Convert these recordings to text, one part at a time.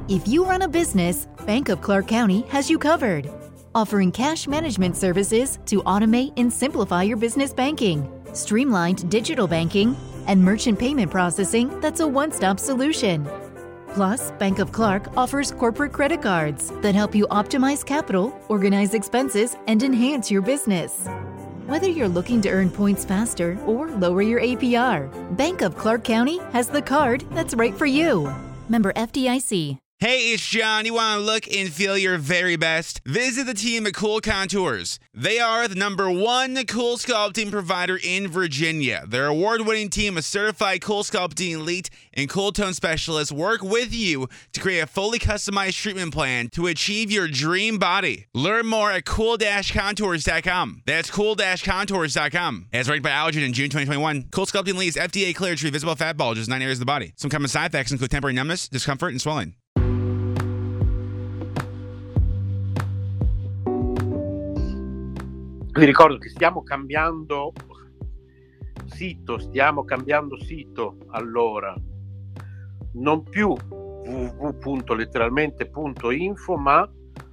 If you run a business, Bank of Clark County has you covered, offering cash management services to automate and simplify your business banking, streamlined digital banking, and merchant payment processing that's a one-stop solution. Plus, Bank of Clark offers corporate credit cards that help you optimize capital, organize expenses, and enhance your business. Whether you're looking to earn points faster or lower your APR, Bank of Clark County has the card that's right for you. Member FDIC. Hey, it's John. You want to look and feel your very best? Visit the team at Cool Contours. They are the #1 cool sculpting provider in Virginia. Their award-winning team of certified cool sculpting elite and cool tone specialists work with you to create a fully customized treatment plan to achieve your dream body. Learn more at cool-contours.com. That's cool-contours.com. As ranked by Allergen in June 2021, Cool Sculpting Elite is FDA cleared to treat visible fat bulges in 9 areas of the body. Some common side effects include temporary numbness, discomfort, and swelling. Vi ricordo che stiamo cambiando sito, allora non più www.letteralmente.info ma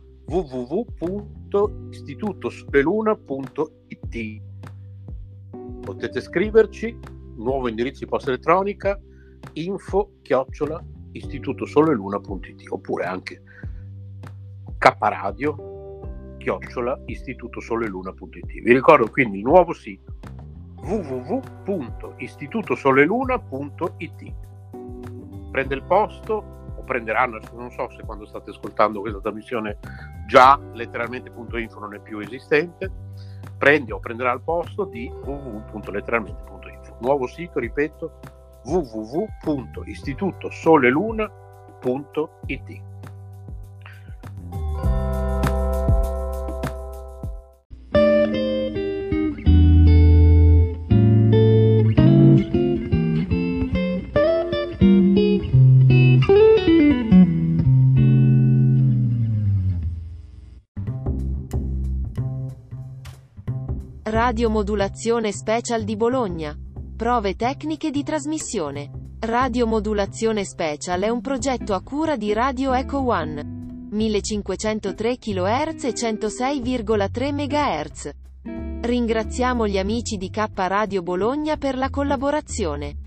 www.istitutosoleluna.it. Potete scriverci, nuovo indirizzo di posta elettronica info@istitutosoleluna.it oppure anche kradio @istitutosoleluna.it. Vi ricordo quindi il nuovo sito www.istitutosoleluna.it. Prende il posto, o prenderanno, non so se quando state ascoltando questa trasmissione già letteralmente.info non è più esistente, prenderà il posto di www.letteralmente.info. Nuovo sito, ripeto, www.istitutosoleluna.it. Radiomodulazione Special di Bologna. Prove tecniche di trasmissione. Radiomodulazione Special è un progetto a cura di Radio Echo One. 1503 kHz e 106,3 MHz. Ringraziamo gli amici di K Radio Bologna per la collaborazione.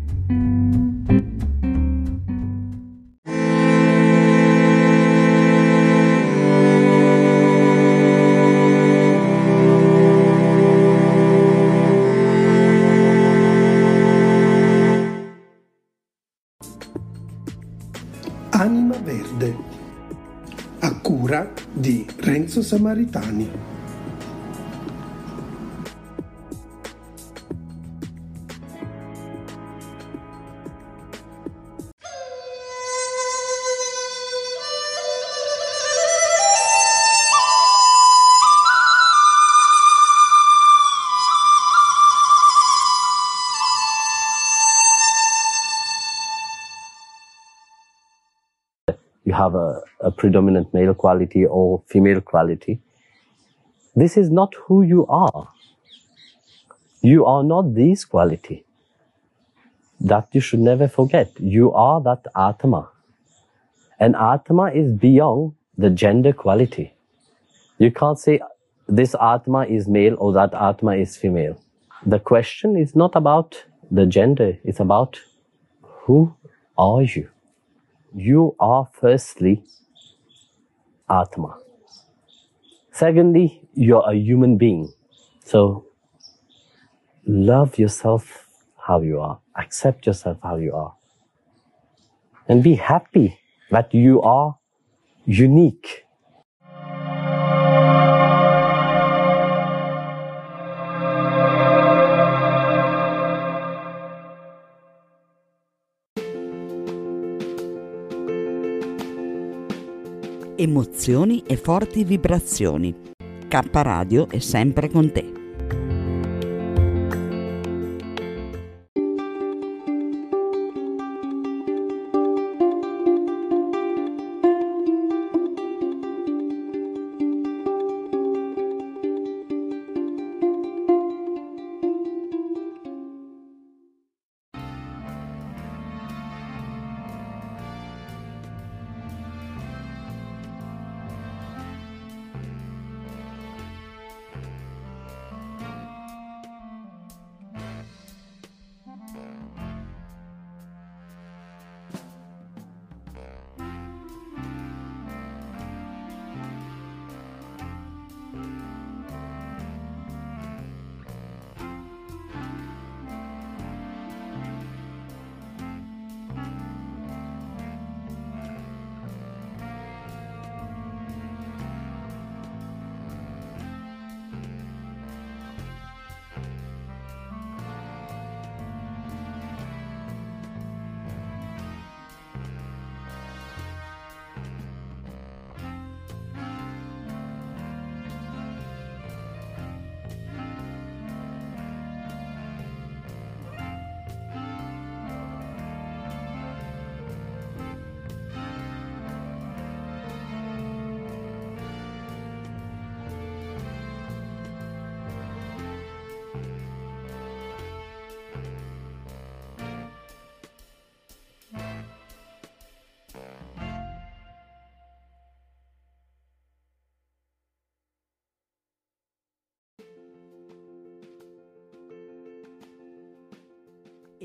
Anima Verde, a cura di Renzo Samaritani. You have a predominant male quality or female quality. This is not who you are. You are not this quality. That you should never forget. You are that Atma. And Atma is beyond the gender quality. You can't say this Atma is male or that Atma is female. The question is not about the gender. It's about who are you? You are firstly Atma. Secondly, you're a human being. So love yourself how you are. Accept yourself how you are. And be happy that you are unique. Emozioni e forti vibrazioni. K Radio è sempre con te.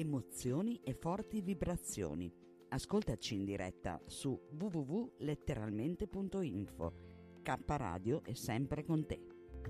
emozioni e forti vibrazioni. Ascoltaci in diretta su www.letteralmente.info. K Radio è sempre con te.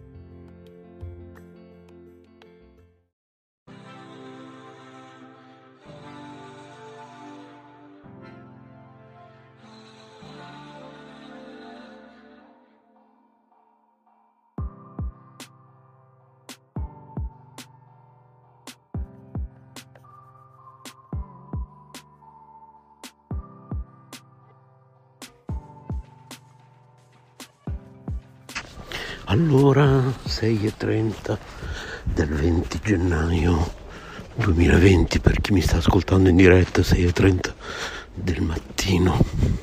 Allora, 6:30 del 20 gennaio 2020, per chi mi sta ascoltando in diretta, 6:30 del mattino,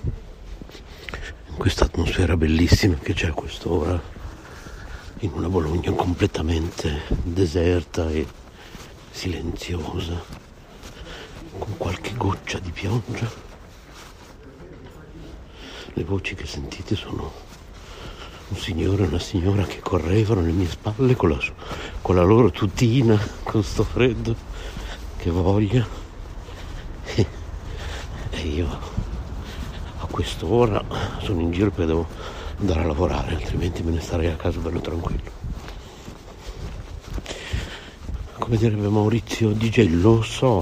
in questa atmosfera bellissima che c'è a quest'ora, in una Bologna completamente deserta e silenziosa, con qualche goccia di pioggia. Le voci che sentite sono un signore e una signora che correvano alle mie spalle con la loro tutina, con sto freddo, che voglia. E io a quest'ora sono in giro perché devo andare a lavorare, altrimenti me ne starei a casa bello tranquillo. Come direbbe Maurizio DJ, lo so.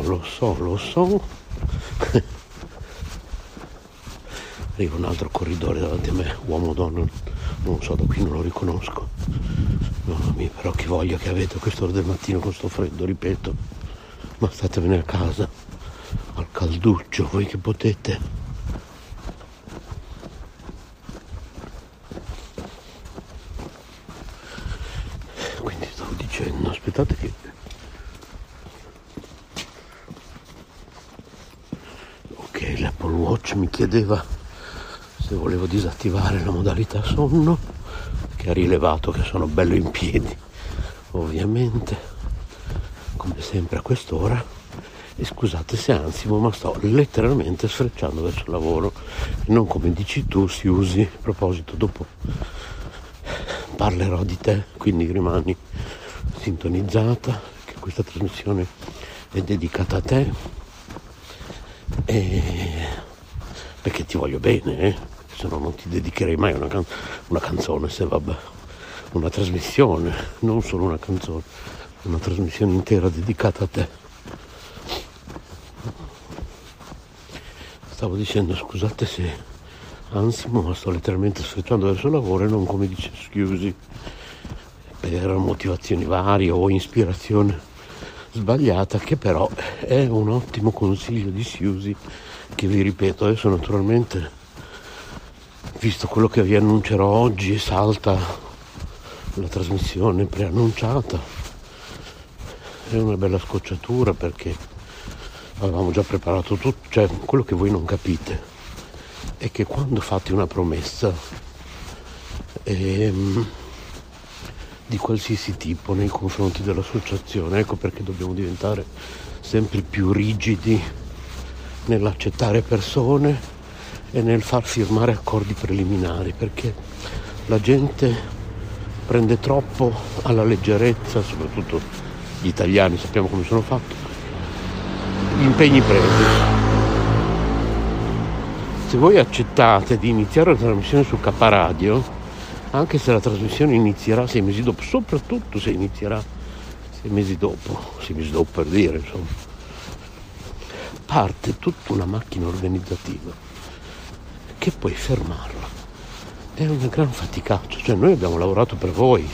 Arriva un altro corridore davanti a me, uomo o donna, non so, da qui non lo riconosco. Mamma mia, però che voglia che avete a quest'ora del mattino con sto freddo, ripeto. Ma statevene a casa, al calduccio, voi che potete. Quindi stavo dicendo, aspettate che... Ok, l'Apple Watch mi chiedeva se volevo disattivare la modalità sonno, che ha rilevato che sono bello in piedi, ovviamente, come sempre a quest'ora. E scusate se ansimo, ma sto letteralmente sfrecciando verso il lavoro, e non come dici tu, si usi. A proposito, dopo parlerò di te, quindi rimani sintonizzata, che questa trasmissione è dedicata a te, e perché ti voglio bene, se no non ti dedicherei mai una canzone, se vabbè, una trasmissione, non solo una canzone, una trasmissione intera dedicata a te. Stavo dicendo, scusate se ansimo, ma sto letteralmente sfrecciando verso il lavoro, e non come dice scusi, per motivazioni varie o ispirazione sbagliata, che però è un ottimo consiglio di Siusi, che vi ripeto. Adesso naturalmente, visto quello che vi annuncerò oggi, salta la trasmissione preannunciata. È una bella scocciatura, perché avevamo già preparato tutto. Cioè, quello che voi non capite è che quando fate una promessa di qualsiasi tipo nei confronti dell'associazione, ecco perché dobbiamo diventare sempre più rigidi nell'accettare persone e nel far firmare accordi preliminari, perché la gente prende troppo alla leggerezza, soprattutto gli italiani, sappiamo come sono fatti, gli impegni presi. Se voi accettate di iniziare la trasmissione su K Radio, anche se la trasmissione inizierà 6 mesi dopo, soprattutto se inizierà 6 mesi dopo per dire, insomma, parte tutta una macchina organizzativa che puoi fermarla. È una gran faticaccia. Cioè, noi abbiamo lavorato per voi.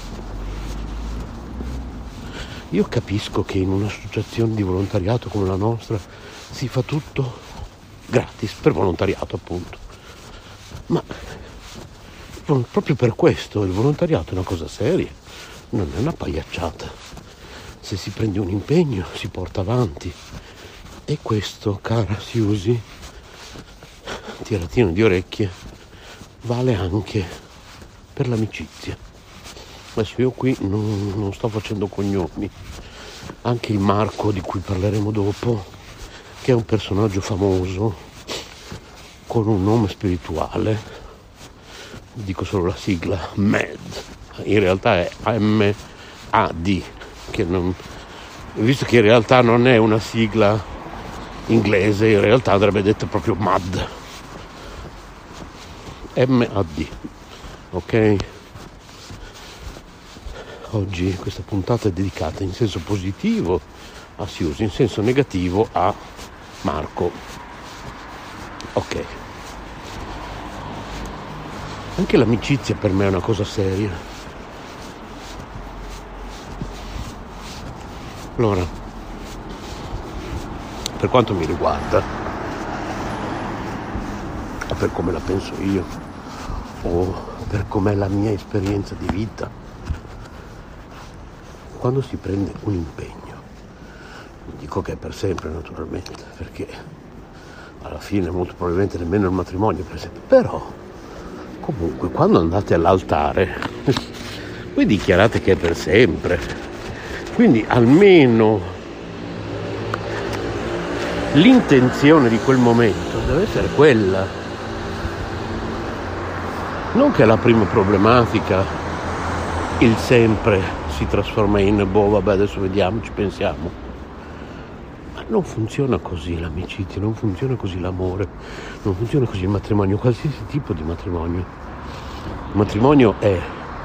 Io capisco che in un'associazione di volontariato come la nostra si fa tutto gratis, per volontariato appunto, ma proprio per questo il volontariato è una cosa seria, non è una pagliacciata. Se si prende un impegno si porta avanti, e questo, cara Siusi, tiratino di orecchie, vale anche per l'amicizia. Adesso io qui non sto facendo cognomi. Anche il Marco, di cui parleremo dopo, che è un personaggio famoso con un nome spirituale, dico solo la sigla MED, in realtà è MAD, che non visto che in realtà non è una sigla inglese, in realtà andrebbe detto proprio MAD, MAD, ok? Oggi questa puntata è dedicata in senso positivo a Siusi, in senso negativo a Marco, ok? Anche l'amicizia per me è una cosa seria. Allora, per quanto mi riguarda, o per come la penso io, o per com'è la mia esperienza di vita, quando si prende un impegno, non dico che è per sempre naturalmente, perché alla fine molto probabilmente nemmeno il matrimonio per sempre, però comunque quando andate all'altare voi dichiarate che è per sempre, quindi almeno l'intenzione di quel momento deve essere quella, non che la prima problematica, il sempre, si trasforma in vabbè adesso vediamo, ci pensiamo. Ma non funziona così l'amicizia, non funziona così l'amore, non funziona così il matrimonio, qualsiasi tipo di matrimonio. Il matrimonio è,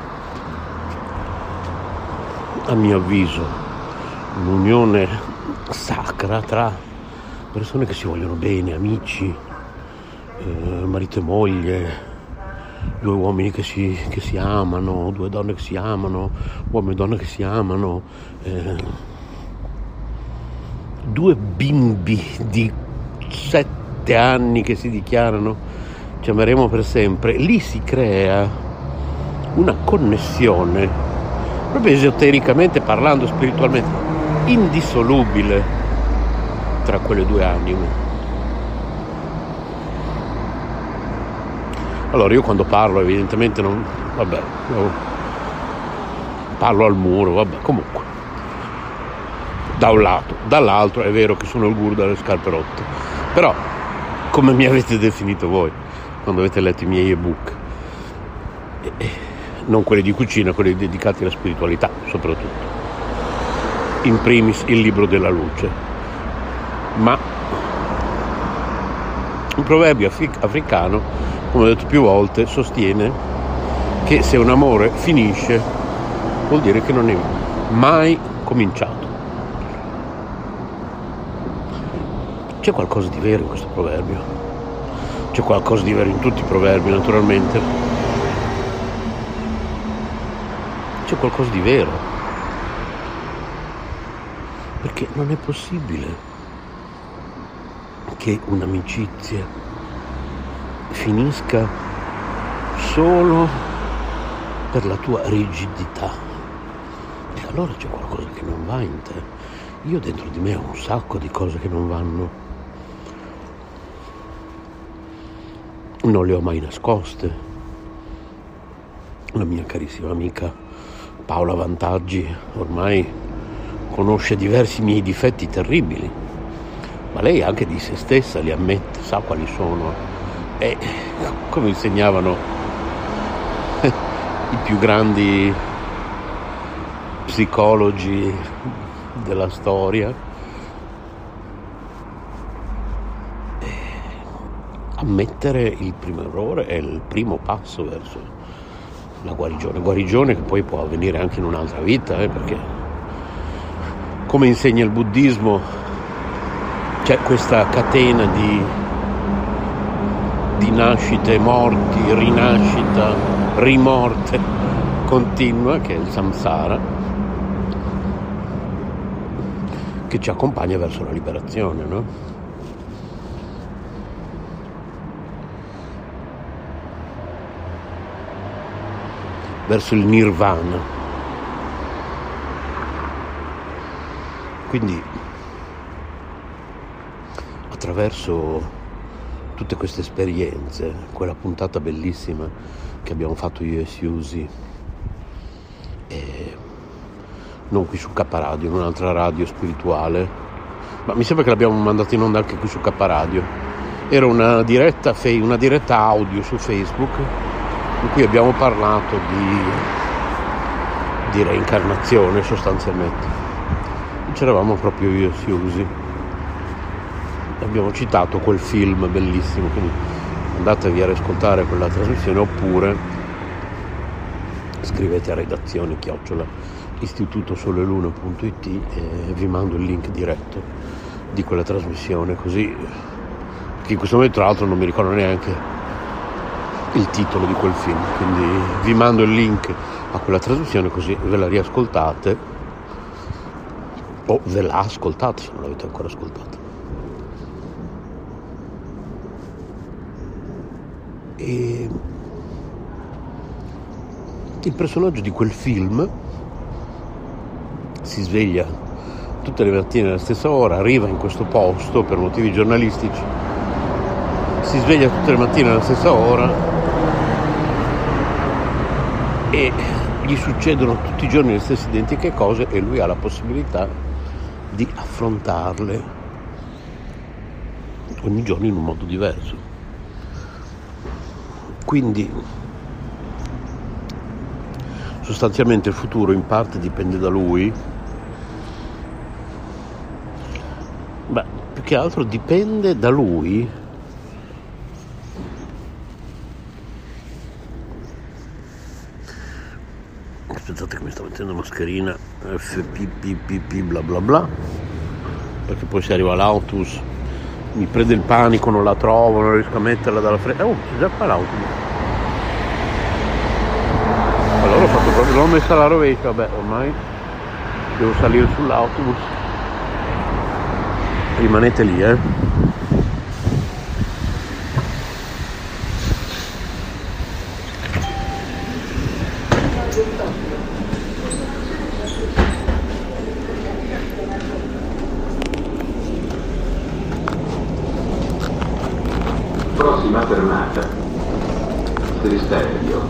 a mio avviso, un'unione sacra tra persone che si vogliono bene, amici, marito e moglie, due uomini che si amano, due donne che si amano, uomo e donna che si amano, due bimbi di 7 anni che si dichiarano ci ameremo per sempre. Lì si crea una connessione, proprio esotericamente parlando, spiritualmente, indissolubile tra quelle due anime. Allora io quando parlo evidentemente non, parlo al muro, comunque, da un lato, dall'altro è vero che sono il guru dalle scarpe rotte, però come mi avete definito voi quando avete letto i miei ebook, non quelli di cucina, quelli dedicati alla spiritualità soprattutto, in primis il libro della luce, ma un proverbio africano, come ho detto più volte, sostiene che se un amore finisce vuol dire che non è mai cominciato. C'è qualcosa di vero in questo proverbio, c'è qualcosa di vero in tutti i proverbi naturalmente, c'è qualcosa di vero, perché non è possibile che un'amicizia finisca solo per la tua rigidità, e allora c'è qualcosa che non va in te. Io dentro di me ho un sacco di cose che non vanno, non le ho mai nascoste. La mia carissima amica Paola Vantaggi ormai conosce diversi miei difetti terribili, ma lei anche di se stessa li ammette, sa quali sono, e come insegnavano i più grandi psicologi della storia, ammettere il primo errore è il primo passo verso la guarigione che poi può avvenire anche in un'altra vita, perché come insegna il buddismo c'è questa catena di nascite, morti, rinascita, rimorte continua, che è il samsara, che ci accompagna verso la liberazione, no? Verso il nirvana. Quindi attraverso tutte queste esperienze, quella puntata bellissima che abbiamo fatto io e Siusi, non qui su K Radio, in un'altra radio spirituale, ma mi sembra che l'abbiamo mandato in onda anche qui su K Radio. Era una diretta audio su Facebook in cui abbiamo parlato di reincarnazione sostanzialmente. c'eravamo proprio io e Siusi. Abbiamo citato quel film bellissimo, quindi andatevi a riascoltare quella trasmissione, oppure scrivete a redazione @istitutosoleluna.it e vi mando il link diretto di quella trasmissione, così, che in questo momento tra l'altro non mi ricordo neanche il titolo di quel film, quindi vi mando il link a quella trasmissione così ve la riascoltate o ve la ascoltate se non l'avete ancora ascoltata. E il personaggio di quel film si sveglia tutte le mattine alla stessa ora, arriva in questo posto per motivi giornalistici, si sveglia tutte le mattine alla stessa ora e gli succedono tutti i giorni le stesse identiche cose e lui ha la possibilità di affrontarle ogni giorno in un modo diverso. Quindi sostanzialmente il futuro in parte dipende da lui, beh, più che altro dipende da lui aspettate che mi sto mettendo mascherina FPPPP bla bla bla, perché poi se arriva l'autobus mi prende il panico, non la trovo, non riesco a metterla dalla fretta. Oh, c'è già qua l'autobus. Allora ho fatto proprio, l'ho messa alla rovescia, vabbè, ormai devo salire sull'autobus. Rimanete lì, Prossima fermata, Tristerio.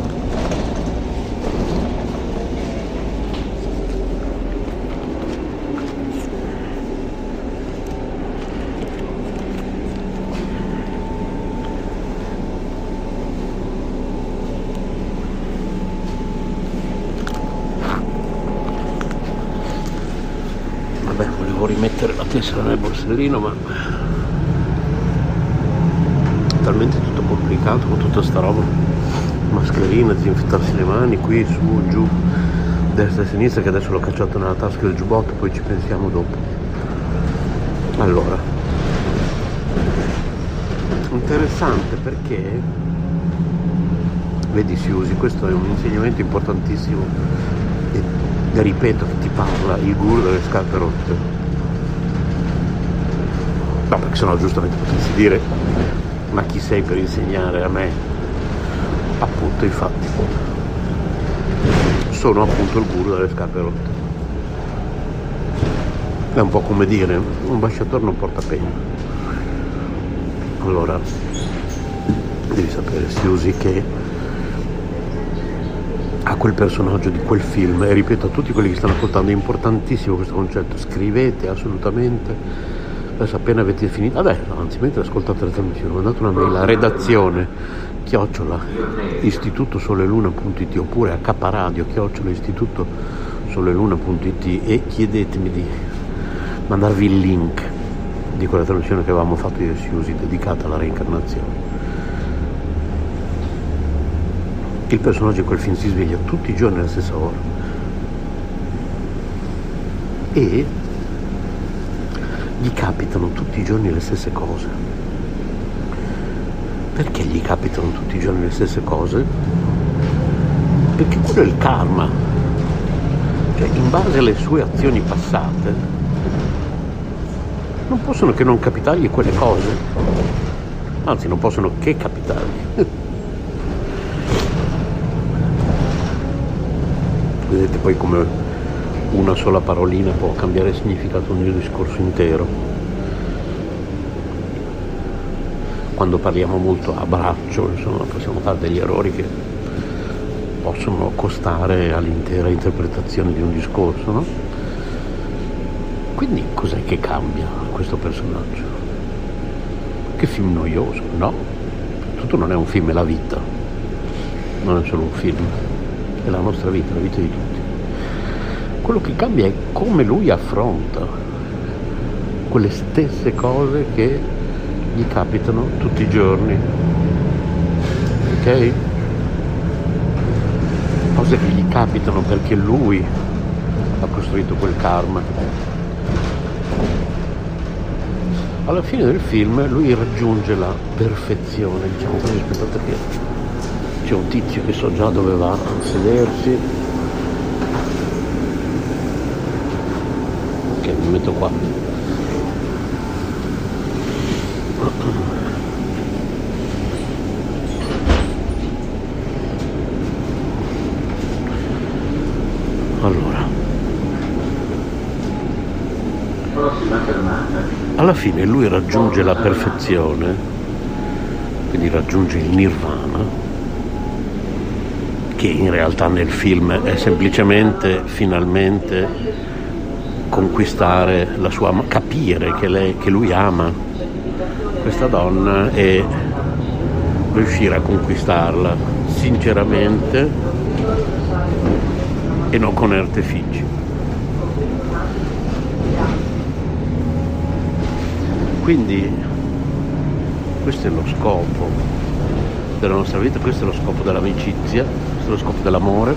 Vabbè, volevo rimettere la tessera nel borsellino, ma talmente tutto complicato con tutta sta roba, mascherina, disinfettarsi le mani, qui, su, giù, destra e sinistra, che adesso l'ho cacciato nella tasca del giubbotto, poi ci pensiamo dopo. Allora, interessante perché vedi Siusi, questo è un insegnamento importantissimo e ripeto che ti parla il guru delle scarpe rotte. No, perché sennò giustamente potresti dire: ma chi sei per insegnare a me? Appunto, infatti sono appunto il guru delle scarpe rotte. È un po' come dire: un ambasciatore non porta penna. Allora devi sapere, Siusi, che a quel personaggio di quel film, e ripeto a tutti quelli che stanno ascoltando, è importantissimo questo concetto, scrivete assolutamente. Adesso appena avete finito, anzi mentre ascoltate la trasmissione, mandate una mail a redazione @istitutosoleluna.it oppure a caparadio @istitutosoleluna.it e chiedetemi di mandarvi il link di quella trasmissione che avevamo fatto io e Siusi dedicata alla reincarnazione. Il personaggio di quel film si sveglia tutti i giorni alla stessa ora e gli capitano tutti i giorni le stesse cose. Perché gli capitano tutti i giorni le stesse cose? Perché quello è il karma. Cioè, in base alle sue azioni passate non possono che non capitargli quelle cose, anzi non possono che capitargli. Vedete poi come una sola parolina può cambiare significato di un discorso intero. Quando parliamo molto a braccio, insomma, possiamo fare degli errori che possono costare all'intera interpretazione di un discorso, no? Quindi cos'è che cambia questo personaggio? Che film noioso, no? Tutto non è un film, è la vita, non è solo un film, è la nostra vita, la vita di tutti. Quello che cambia è come lui affronta quelle stesse cose che gli capitano tutti i giorni, ok? Cose che gli capitano perché lui ha costruito quel karma. Alla fine del film lui raggiunge la perfezione, diciamo così. Aspettate che c'è un tizio che so già dove va a sedersi. Ok, mi metto qua. Allora, alla fine lui raggiunge la perfezione, quindi raggiunge il nirvana, che in realtà nel film è semplicemente finalmente conquistare la sua, capire che lui ama questa donna e riuscire a conquistarla sinceramente e non con artifici. Quindi questo è lo scopo della nostra vita, questo è lo scopo dell'amicizia, questo è lo scopo dell'amore,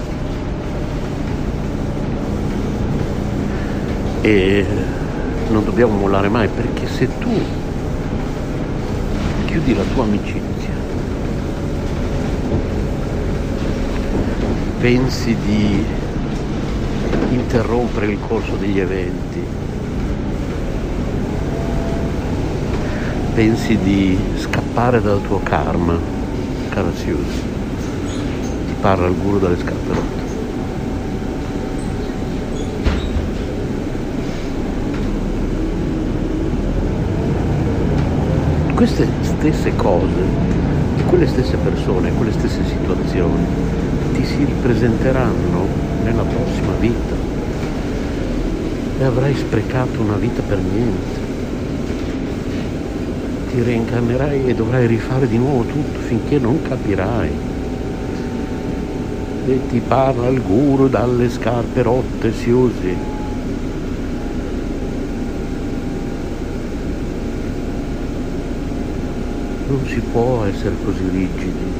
e non dobbiamo mollare mai, perché se tu chiudi la tua amicizia, pensi di interrompere il corso degli eventi, pensi di scappare dal tuo karma, cara Suzy, ti parla il guru dalle scarpe rotte. Queste stesse cose, quelle stesse persone, quelle stesse situazioni ti si ripresenteranno nella prossima vita e avrai sprecato una vita per niente. Ti reincarnerai e dovrai rifare di nuovo tutto finché non capirai. E ti parla il guru dalle scarpe rotte, Suzy. Non si può essere così rigidi.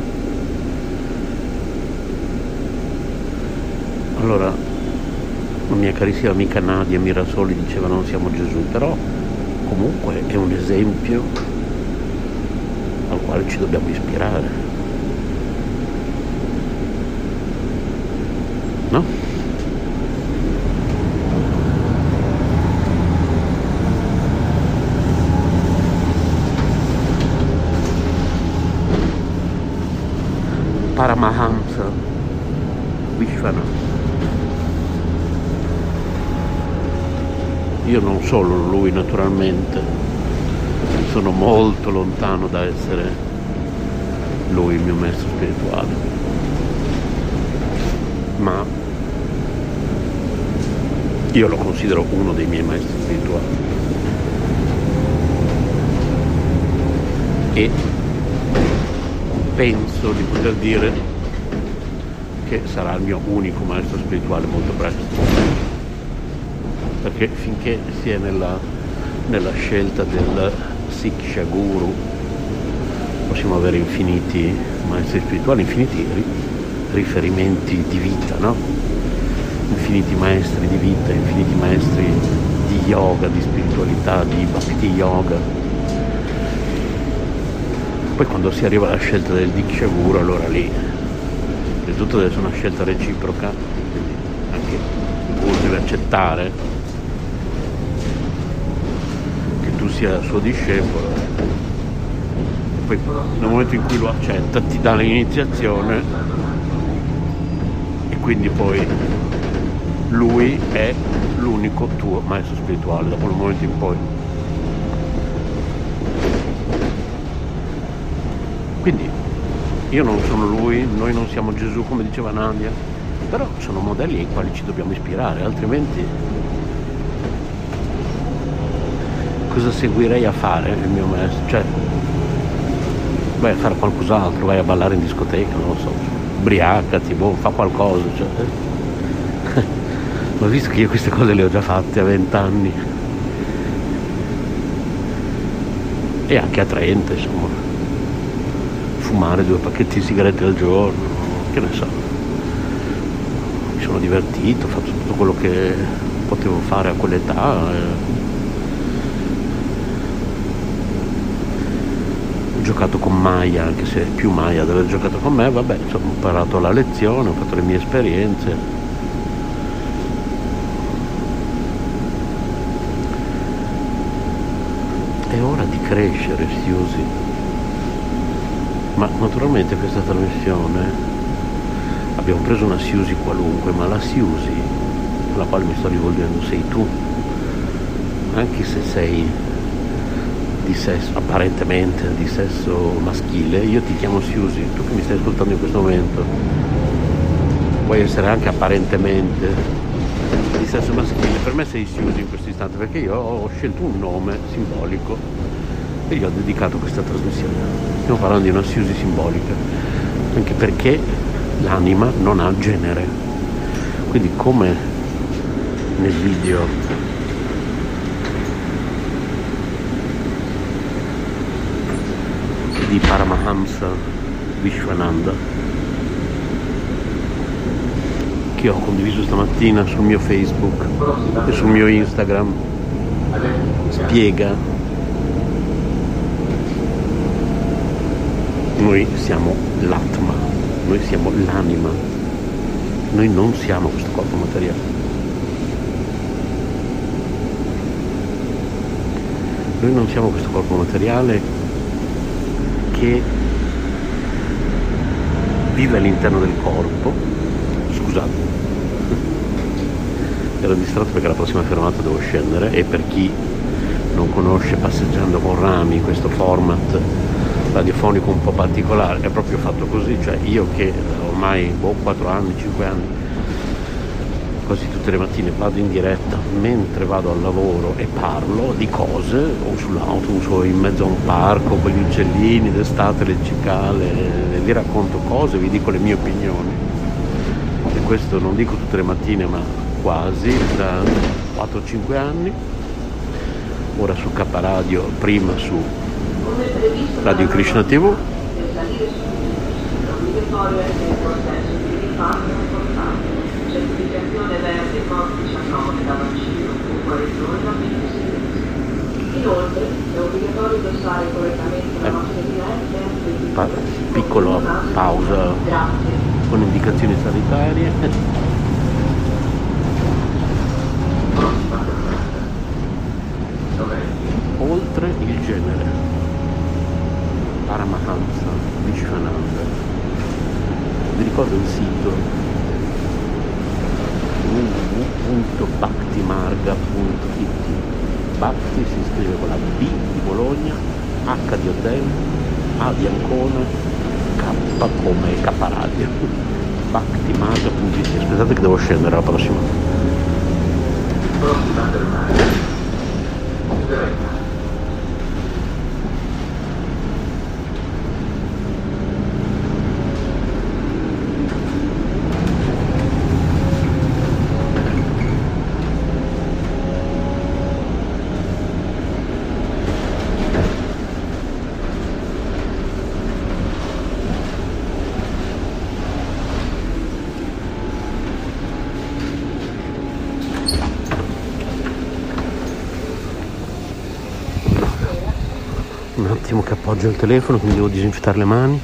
Allora, la mia carissima amica Nadia Mirasoli diceva non siamo Gesù, però comunque è un esempio al quale ci dobbiamo ispirare, no? Paramahamsa Vishwanath. Io non solo lui, naturalmente, sono molto lontano da essere lui il mio maestro spirituale, ma io lo considero uno dei miei maestri spirituali e penso di poter dire che sarà il mio unico maestro spirituale molto presto, perché finché si è nella scelta del Siksha Guru possiamo avere infiniti maestri spirituali, infiniti riferimenti di vita, no? Infiniti maestri di vita, infiniti maestri di yoga, di spiritualità, di bhakti yoga. Poi quando si arriva alla scelta del Diksha Guru, allora lì tutto deve essere una scelta reciproca, quindi anche il Guru deve accettare che tu sia suo discepolo, e poi nel momento in cui lo accetta ti dà l'iniziazione e quindi poi lui è l'unico tuo maestro spirituale da quel momento in poi. Quindi io non sono lui, noi non siamo Gesù come diceva Nadia, però sono modelli ai quali ci dobbiamo ispirare, altrimenti cosa seguirei a fare il mio maestro? Cioè, vai a fare qualcos'altro, vai a ballare in discoteca, non lo so, ubriacati, fa qualcosa, cioè. Ma visto che io queste cose le ho già fatte a 20 anni e anche a 30, insomma, fumare 2 pacchetti di sigarette al giorno, che ne so, mi sono divertito, ho fatto tutto quello che potevo fare a quell'età. Ho giocato con Maya, anche se più Maya ad aver giocato con me, vabbè, insomma, ho imparato la lezione, ho fatto le mie esperienze. È ora di crescere, Siusi. Ma naturalmente questa trasmissione abbiamo preso una Siusi qualunque, ma la Siusi alla quale mi sto rivolgendo sei tu, anche se sei di sesso, apparentemente di sesso maschile. Io ti chiamo Siusi, tu che mi stai ascoltando in questo momento puoi essere anche apparentemente di sesso maschile, per me sei Siusi in questo istante, perché io ho scelto un nome simbolico e gli ho dedicato questa trasmissione. Stiamo parlando di una Siusi simbolica, anche perché l'anima non ha genere, quindi come nel video di Paramahamsa Vishwananda che ho condiviso stamattina sul mio Facebook e sul mio Instagram, spiega: noi siamo l'Atma, noi siamo l'anima, noi non siamo questo corpo materiale. Noi non siamo questo corpo materiale che vive all'interno del corpo. Scusate, ero distratto perché alla prossima fermata devo scendere, e per chi non conosce Passeggiando con Rami, questo format radiofonico un po' particolare, è proprio fatto così, cioè io che ormai 4 anni, 5 anni, quasi tutte le mattine vado in diretta mentre vado al lavoro e parlo di cose, o sull'autobus o in mezzo a un parco con gli uccellini d'estate, le cicale, vi racconto cose, vi dico le mie opinioni. E questo non dico tutte le mattine, ma quasi da 4-5 anni, ora su K Radio, prima su Radio Krishna TV. Inoltre è obbligatorio indossare correttamente la mascherina Piccola pausa con indicazioni sanitarie. Oltre il genere, Paramahamsa Vishwananda. Vi ricordo il sito www.bhaktimarga.it. Bhakti si scrive con la B di Bologna, H di Hotel, A di Ancona, K come K Radio. Bhaktimarga.it. Aspettate che devo scendere alla prossima. Un attimo che appoggio il telefono, quindi devo disinfettare le mani.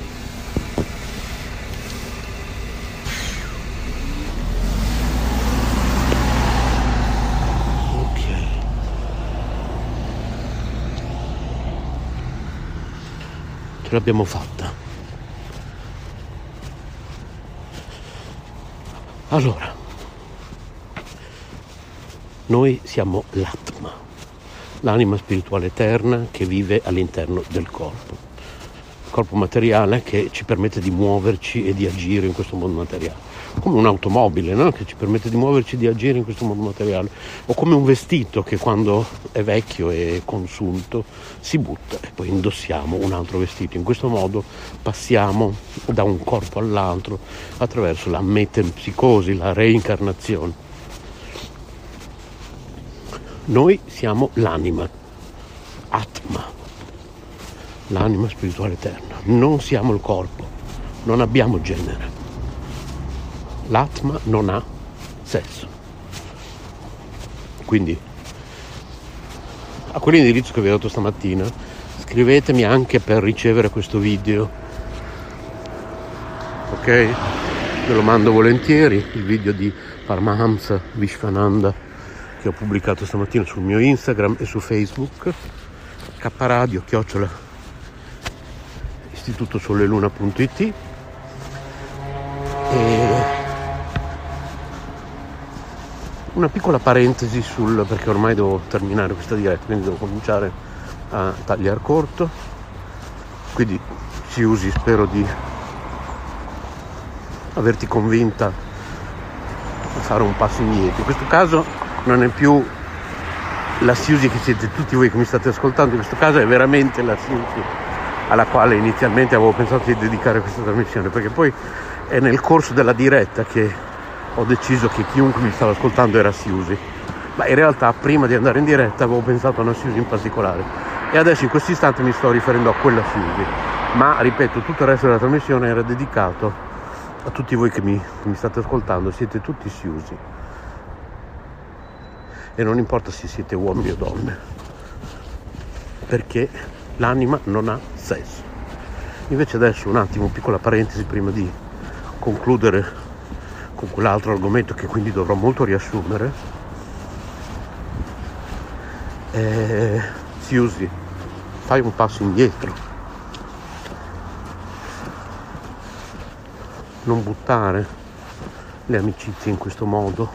Ok. Ce l'abbiamo fatta. Allora, noi siamo l'Atma, l'anima spirituale eterna che vive all'interno del corpo. Il corpo materiale che ci permette di muoverci e di agire in questo mondo materiale. Come un'automobile, no? Che ci permette di muoverci e di agire in questo mondo materiale. O come un vestito che quando è vecchio e consunto si butta e poi indossiamo un altro vestito. In questo modo passiamo da un corpo all'altro attraverso la metempsicosi, la reincarnazione. Noi siamo l'anima, Atma, l'anima spirituale eterna. Non siamo il corpo, non abbiamo genere. L'Atma non ha sesso. Quindi, a quell'indirizzo che vi ho dato stamattina, scrivetemi anche per ricevere questo video, ok? Ve lo mando volentieri, il video di Paramahamsa Vishwananda che ho pubblicato stamattina sul mio Instagram e su Facebook, kradio @istitutosoleluna.it. E una piccola parentesi perché ormai devo terminare questa diretta, quindi devo cominciare a tagliare corto, quindi Siusi, spero di averti convinta a fare un passo indietro. In questo caso non è più la Siusi che siete tutti voi che mi state ascoltando, in questo caso è veramente la Siusi alla quale inizialmente avevo pensato di dedicare questa trasmissione, perché poi è nel corso della diretta che ho deciso che chiunque mi stava ascoltando era Siusi, ma in realtà prima di andare in diretta avevo pensato a una Siusi in particolare e adesso in questo istante mi sto riferendo a quella Siusi, ma ripeto, tutto il resto della trasmissione era dedicato a tutti voi che mi state ascoltando, siete tutti Siusi e non importa se siete uomini o donne, perché l'anima non ha sesso. Invece adesso un attimo, piccola parentesi prima di concludere con quell'altro argomento che quindi dovrò molto riassumere. Siusi, fai un passo indietro, non buttare le amicizie in questo modo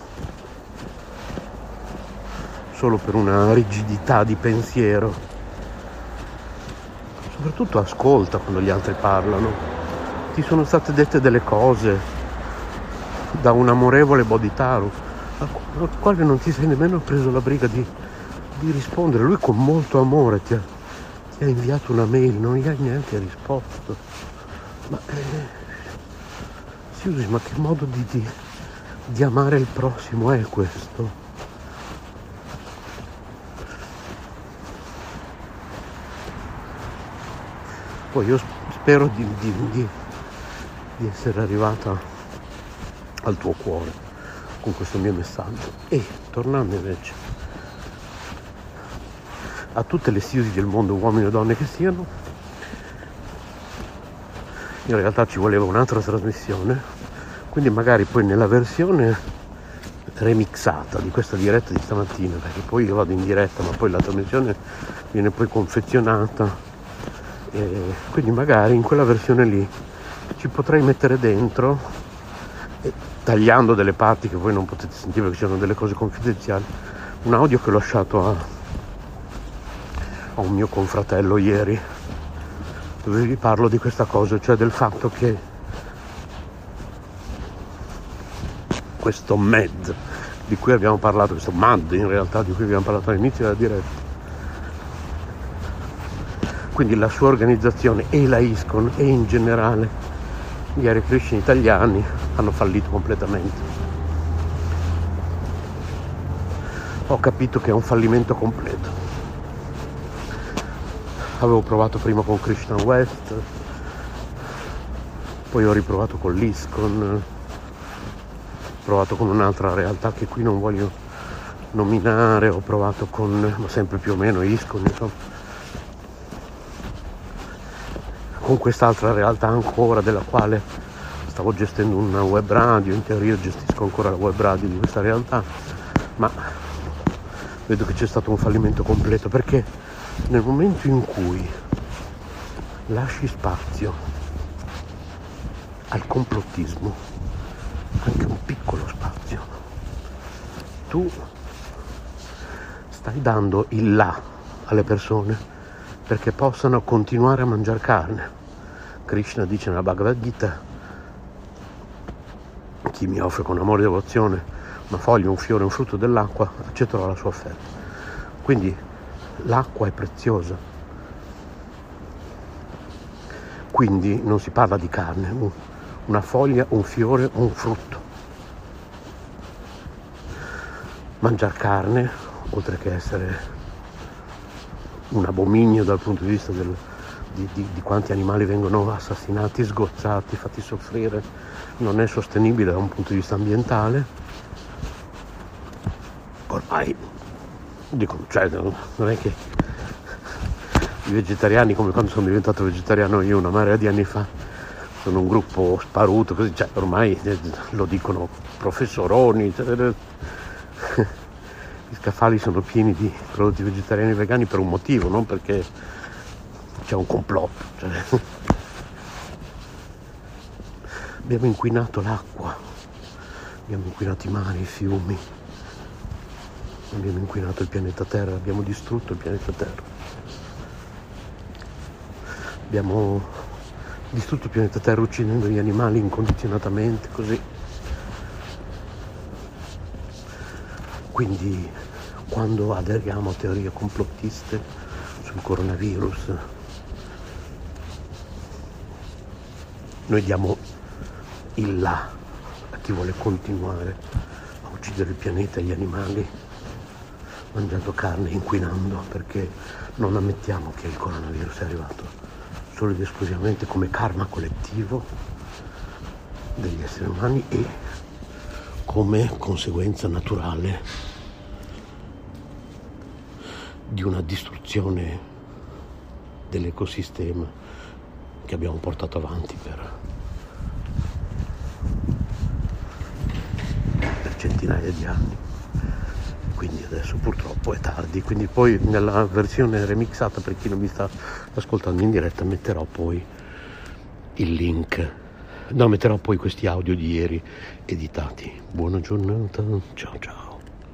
solo per una rigidità di pensiero. Soprattutto ascolta quando gli altri parlano. Ti sono state dette delle cose da un amorevole Bodhitaru al quale non ti sei nemmeno preso la briga di rispondere. Lui con molto amore ti ha inviato una mail, non gli hai neanche risposto. Ma Siusi, ma che modo di amare il prossimo è questo? Poi io spero di essere arrivata al tuo cuore con questo mio messaggio. E tornando invece a tutte le Siusi del mondo, uomini o donne che siano, in realtà ci voleva un'altra trasmissione, quindi magari poi nella versione remixata di questa diretta di stamattina, perché poi io vado in diretta ma poi la trasmissione viene poi confezionata, e quindi magari in quella versione lì ci potrei mettere dentro, tagliando delle parti che voi non potete sentire perché ci sono delle cose confidenziali, un audio che ho lasciato a un mio confratello ieri, dove vi parlo di questa cosa, cioè del fatto che questo MED di cui abbiamo parlato, questo MAD in realtà di cui abbiamo parlato all'inizio della diretta, quindi la sua organizzazione e la ISKCON e in generale gli Hare Krishna italiani hanno fallito completamente. Ho capito che è un fallimento completo. Avevo provato prima con Krishna West, poi ho riprovato con l'ISKCON, ho provato con un'altra realtà che qui non voglio nominare, ho provato ma sempre più o meno ISKCON, insomma, con quest'altra realtà ancora della quale stavo gestendo una web radio, in teoria gestisco ancora la web radio di questa realtà, ma vedo che c'è stato un fallimento completo, perché nel momento in cui lasci spazio al complottismo, anche un piccolo spazio, tu stai dando il là alle persone perché possano continuare a mangiare carne. Krishna dice nella Bhagavad Gita: chi mi offre con amore e devozione una foglia, un fiore, un frutto dell'acqua, accetterò la sua offerta. Quindi l'acqua è preziosa, quindi non si parla di carne, una foglia, un fiore, un frutto. Mangiare carne oltre che essere un abominio dal punto di vista di quanti animali vengono assassinati, sgozzati, fatti soffrire, non è sostenibile da un punto di vista ambientale. Ormai dico, cioè, non è che i vegetariani, come quando sono diventato vegetariano io una marea di anni fa, sono un gruppo sparuto, così, cioè, ormai lo dicono professoroni, cioè, gli scaffali sono pieni di prodotti vegetariani e vegani per un motivo, non perché c'è un complotto. Cioè. Abbiamo inquinato l'acqua, abbiamo inquinato i mari, i fiumi, abbiamo inquinato il pianeta Terra, abbiamo distrutto il pianeta Terra. Abbiamo distrutto il pianeta Terra uccidendo gli animali incondizionatamente, così. Quindi quando aderiamo a teorie complottiste sul coronavirus, noi diamo il là a chi vuole continuare a uccidere il pianeta e gli animali mangiando carne e inquinando, perché non ammettiamo che il coronavirus è arrivato solo ed esclusivamente come karma collettivo degli esseri umani e come conseguenza naturale di una distruzione dell'ecosistema che abbiamo portato avanti per centinaia di anni. Quindi adesso purtroppo è tardi, quindi poi nella versione remixata, per chi non mi sta ascoltando in diretta, metterò poi il link. No, metterò poi questi audio di ieri editati. Buona giornata, ciao ciao.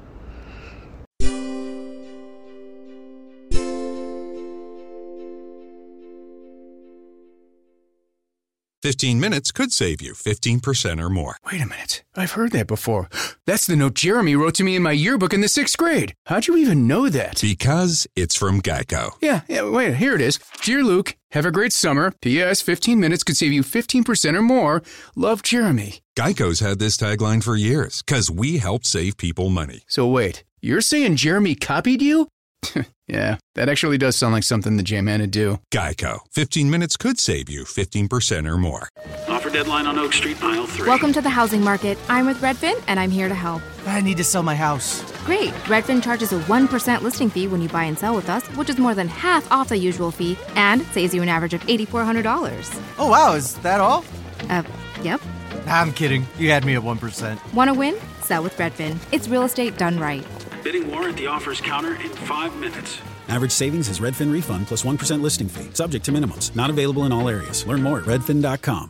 "15 minutes could save you 15% or more." Wait a minute. I've heard that before. That's the note Jeremy wrote to me in my yearbook in the 6th grade. How'd you even know that? Because it's from Geico. Yeah, wait, here it is. Dear Luke, have a great summer. P.S. 15 minutes could save you 15% or more. Love, Jeremy. Geico's had this tagline for years, because we help save people money. So wait, you're saying Jeremy copied you? Yeah, that actually does sound like something the J-Man would do. Geico. 15 minutes could save you 15% or more. Offer deadline on Oak Street, aisle 3. Welcome to the housing market. I'm with Redfin, and I'm here to help. I need to sell my house. Great. Redfin charges a 1% listing fee when you buy and sell with us, which is more than half off the usual fee, and saves you an average of $8,400. Oh, wow. Is that all? Yep. I'm kidding. You had me at 1%. Want to win? Sell with Redfin. It's real estate done right. Bidding war at the offers counter in 5 minutes. Average savings is Redfin refund plus 1% listing fee. Subject to minimums. Not available in all areas. Learn more at redfin.com.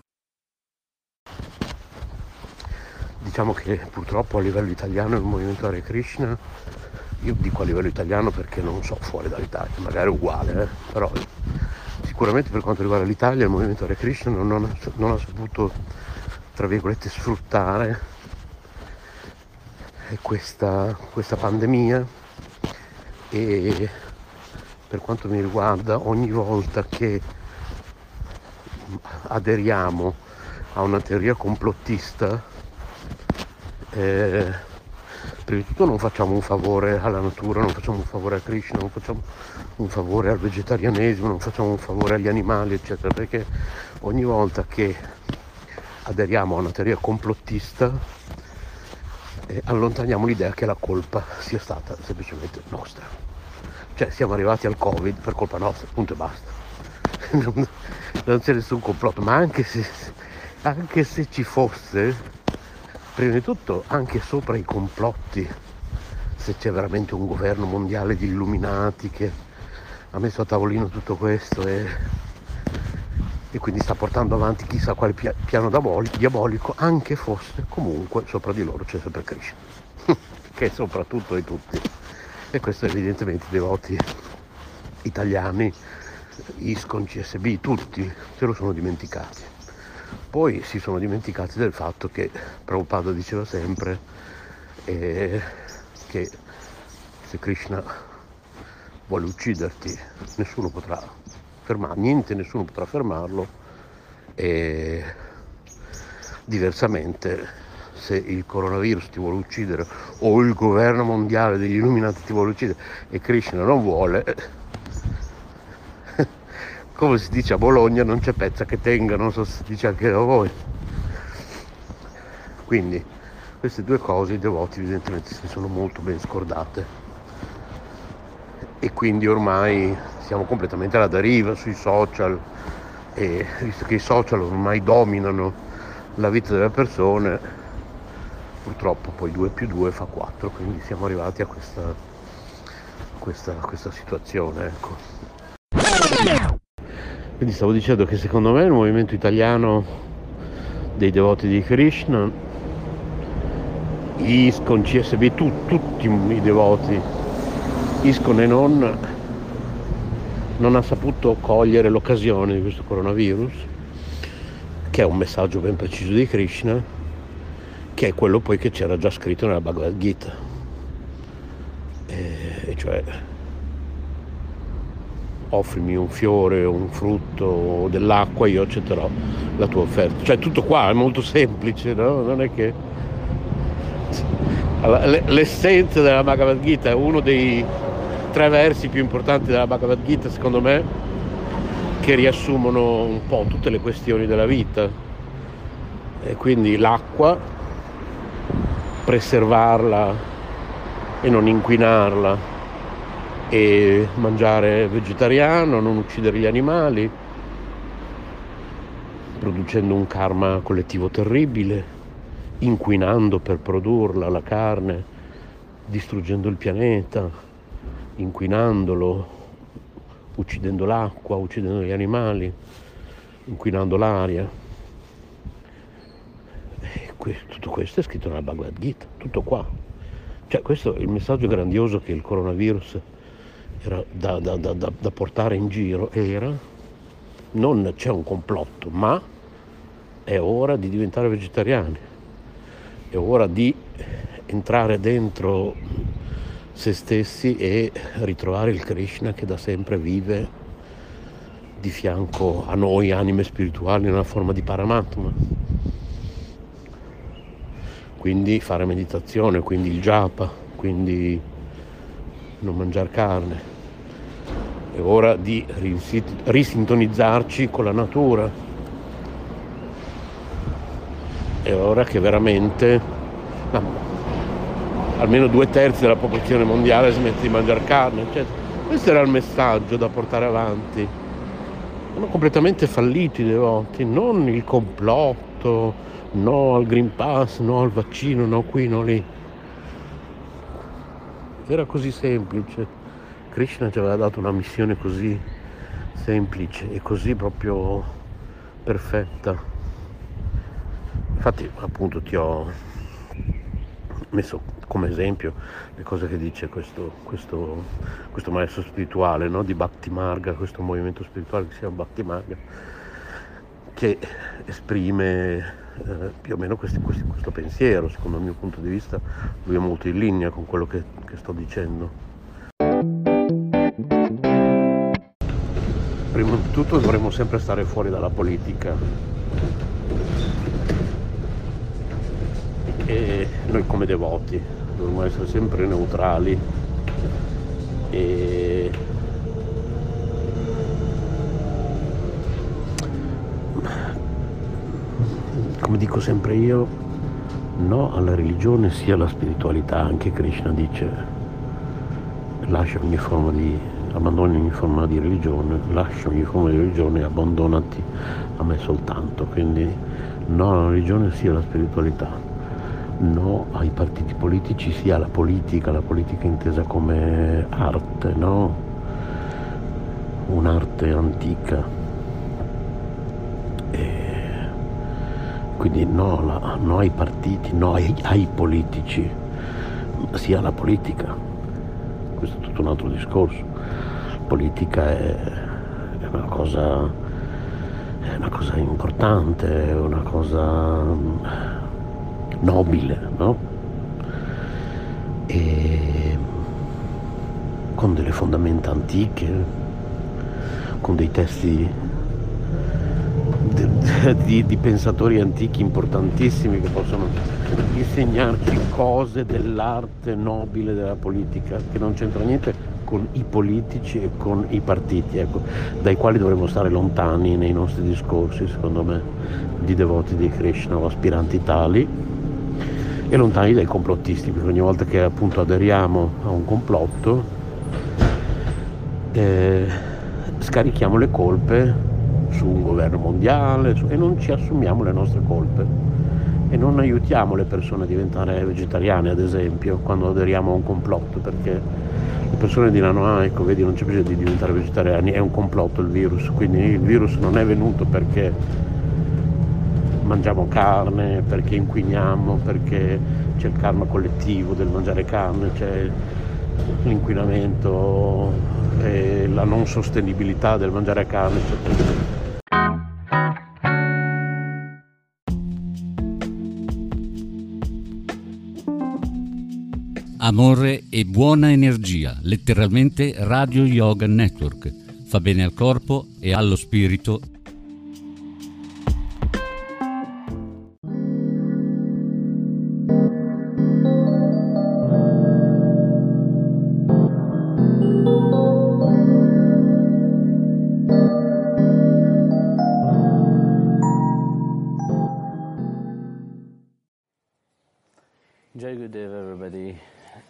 Diciamo che purtroppo a livello italiano il movimento Hare Krishna, io dico a livello italiano perché non so fuori dall'Italia, magari è uguale, però sicuramente per quanto riguarda l'Italia il movimento Hare Krishna non ha saputo, tra virgolette, sfruttare questa pandemia, e per quanto mi riguarda ogni volta che aderiamo a una teoria complottista, prima di tutto non facciamo un favore alla natura, non facciamo un favore a Krishna, non facciamo un favore al vegetarianesimo, non facciamo un favore agli animali, eccetera, perché ogni volta che aderiamo a una teoria complottista allontaniamo l'idea che la colpa sia stata semplicemente nostra. Cioè siamo arrivati al Covid per colpa nostra, punto e basta. Non c'è nessun complotto, ma anche se ci fosse, prima di tutto anche sopra i complotti, se c'è veramente un governo mondiale di illuminati che ha messo a tavolino tutto questo e quindi sta portando avanti chissà quale piano diabolico, anche fosse, comunque sopra di loro c'è sempre Krishna che è sopra tutto e tutti, e questo evidentemente i devoti italiani, ISKCON, CSB, tutti se lo sono dimenticati. Poi si sono dimenticati del fatto che Prabhupada diceva sempre che se Krishna vuole ucciderti nessuno potrà nessuno potrà fermarlo, e diversamente se il coronavirus ti vuole uccidere o il governo mondiale degli illuminati ti vuole uccidere e Krishna non vuole, come si dice a Bologna, non c'è pezza che tenga, non so se si dice anche da voi. Quindi queste due cose i devoti evidentemente si sono molto ben scordate e quindi ormai siamo completamente alla deriva sui social, e visto che i social ormai dominano la vita delle persone, purtroppo poi 2 più 2 fa 4, quindi siamo arrivati a questa situazione, ecco. Quindi stavo dicendo che secondo me il movimento italiano dei devoti di Krishna, ISKCON, CSB, tutti i devoti, ISKCON e non ha saputo cogliere l'occasione di questo coronavirus, che è un messaggio ben preciso di Krishna, che è quello poi che c'era già scritto nella Bhagavad Gita, e cioè offrimi un fiore, un frutto, dell'acqua, io accetterò la tua offerta. Cioè tutto qua è molto semplice, no? Non è che l'essenza della Bhagavad Gita è uno dei 3 versi più importanti della Bhagavad Gita, secondo me, che riassumono un po' tutte le questioni della vita. E quindi l'acqua, preservarla e non inquinarla, e mangiare vegetariano, non uccidere gli animali, producendo un karma collettivo terribile, inquinando per produrla la carne, distruggendo il pianeta, inquinandolo, uccidendo l'acqua, uccidendo gli animali, inquinando l'aria. E tutto questo è scritto nella Bhagavad Gita, tutto qua. Cioè questo è il messaggio grandioso che il coronavirus era da portare in giro, era non c'è un complotto, ma è ora di diventare vegetariani, è ora di entrare dentro se stessi e ritrovare il Krishna che da sempre vive di fianco a noi anime spirituali nella forma di Paramatma. Quindi fare meditazione, quindi il japa, quindi non mangiare carne. È ora di risintonizzarci con la natura. È ora che veramente almeno 2/3 della popolazione mondiale smette di mangiare carne. Cioè, questo era il messaggio da portare avanti. Sono completamente falliti i devoti, non il complotto, no al Green Pass, no al vaccino, no qui, no lì. Era così semplice. Krishna ci aveva dato una missione così semplice e così proprio perfetta. Infatti appunto ti ho messo come esempio le cose che dice questo maestro spirituale, no? Di Bhakti Marga, questo movimento spirituale che si chiama Bhakti Marga, che esprime più o meno questo pensiero. Secondo il mio punto di vista lui è molto in linea con quello che sto dicendo. Prima di tutto dovremmo sempre stare fuori dalla politica, e noi come devoti dovremmo essere sempre neutrali e come dico sempre io, no alla religione, sia alla spiritualità. Anche Krishna dice abbandoni ogni forma di religione, lascia ogni forma di religione e abbandonati a me soltanto. Quindi no alla religione, sia alla spiritualità, no ai partiti politici, sia alla politica intesa come arte, no? Un'arte antica. Quindi no ai partiti, no ai politici, sia alla politica. Questo è tutto un altro discorso. Politica è una cosa importante, è una cosa nobile, no? E con delle fondamenta antiche, con dei testi di pensatori antichi importantissimi che possono insegnarci cose dell'arte nobile della politica, che non c'entra niente con i politici e con i partiti, ecco, dai quali dovremmo stare lontani nei nostri discorsi, secondo me, di devoti di Krishna o aspiranti tali, e lontani dai complottisti, perché ogni volta che appunto aderiamo a un complotto scarichiamo le colpe su un governo mondiale e non ci assumiamo le nostre colpe e non aiutiamo le persone a diventare vegetariane, ad esempio, quando aderiamo a un complotto, perché le persone diranno: ecco, vedi, non c'è bisogno di diventare vegetariani, è un complotto il virus, quindi il virus non è venuto perché mangiamo carne, perché inquiniamo, perché c'è il karma collettivo del mangiare carne, c'è l'inquinamento e la non sostenibilità del mangiare carne, eccetera. Amore e buona energia, letteralmente Radio Yoga Network. Fa bene al corpo e allo spirito. Jai Gurudev, everybody.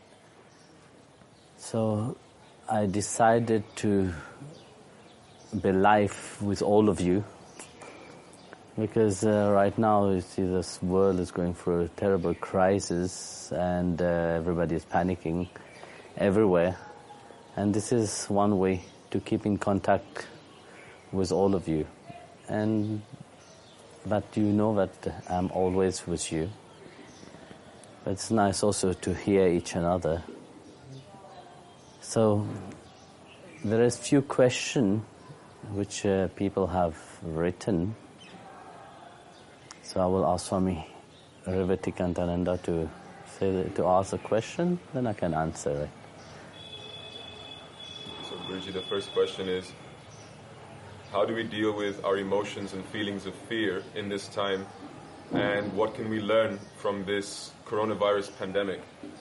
So I decided to be live with all of you because right now you see this world is going through a terrible crisis and everybody is panicking everywhere, and this is one way to keep in contact with all of you. But you know that I'm always with you. But it's nice also to hear each another. So there is few questions which people have written. So I will ask Swami Revatikantananda to ask a question, then I can answer it. So Guruji, the first question is, how do we deal with our emotions and feelings of fear in this time, and what can we learn from this coronavirus pandemic?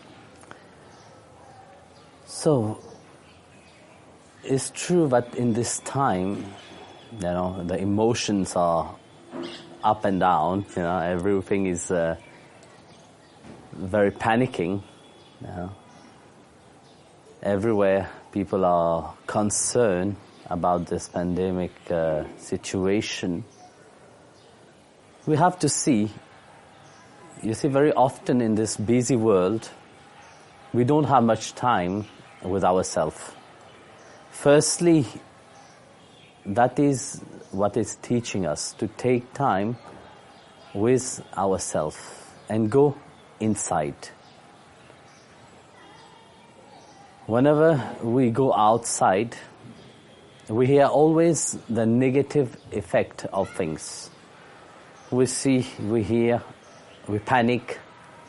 So, it's true that in this time, you know, the emotions are up and down, you know, everything is very panicking, you know. Everywhere people are concerned about this pandemic situation. We have to see, you see, very often in this busy world, we don't have much time with ourselves. Firstly, that is what is teaching us, to take time with ourselves and go inside. Whenever we go outside, we hear always the negative effect of things. We see, we hear, we panic.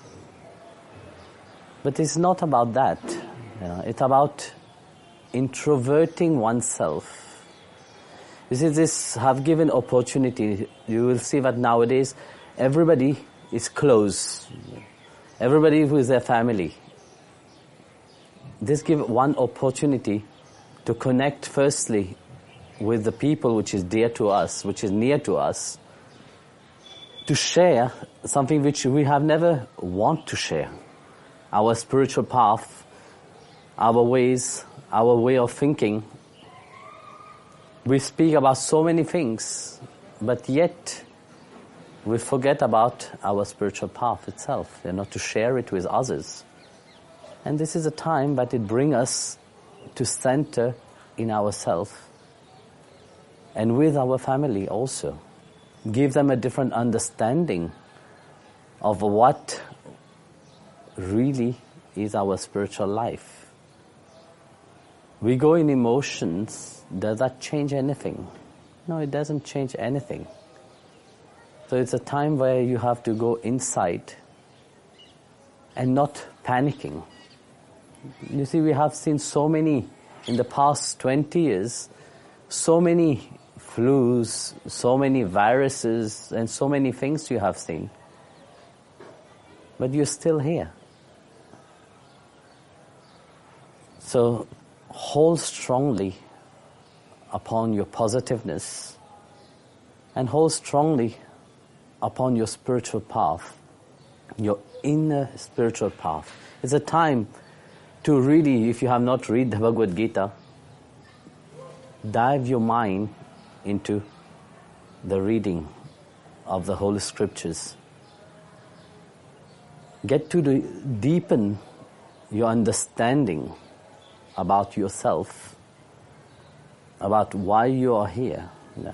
But it's not about that. You know, it's about introverting oneself. You see, this have given opportunity. You will see that nowadays everybody is close. Everybody with their family. This gives one opportunity to connect firstly with the people which is dear to us, which is near to us, to share something which we have never want to share. Our spiritual path, our ways, our way of thinking. We speak about so many things, but yet we forget about our spiritual path itself, and not to share it with others. And this is a time that it brings us to center in ourselves and with our family also. Give them a different understanding of what really is our spiritual life. We go in emotions, does that change anything? No, it doesn't change anything. So it's a time where you have to go inside and not panicking. You see, we have seen so many, in the past 20 years, so many flus, so many viruses, and so many things you have seen. But you're still here. So hold strongly upon your positiveness and hold strongly upon your spiritual path, your inner spiritual path. It's a time to really, if you have not read the Bhagavad Gita, dive your mind into the reading of the Holy Scriptures. Get to deepen your understanding about yourself, about why you are here,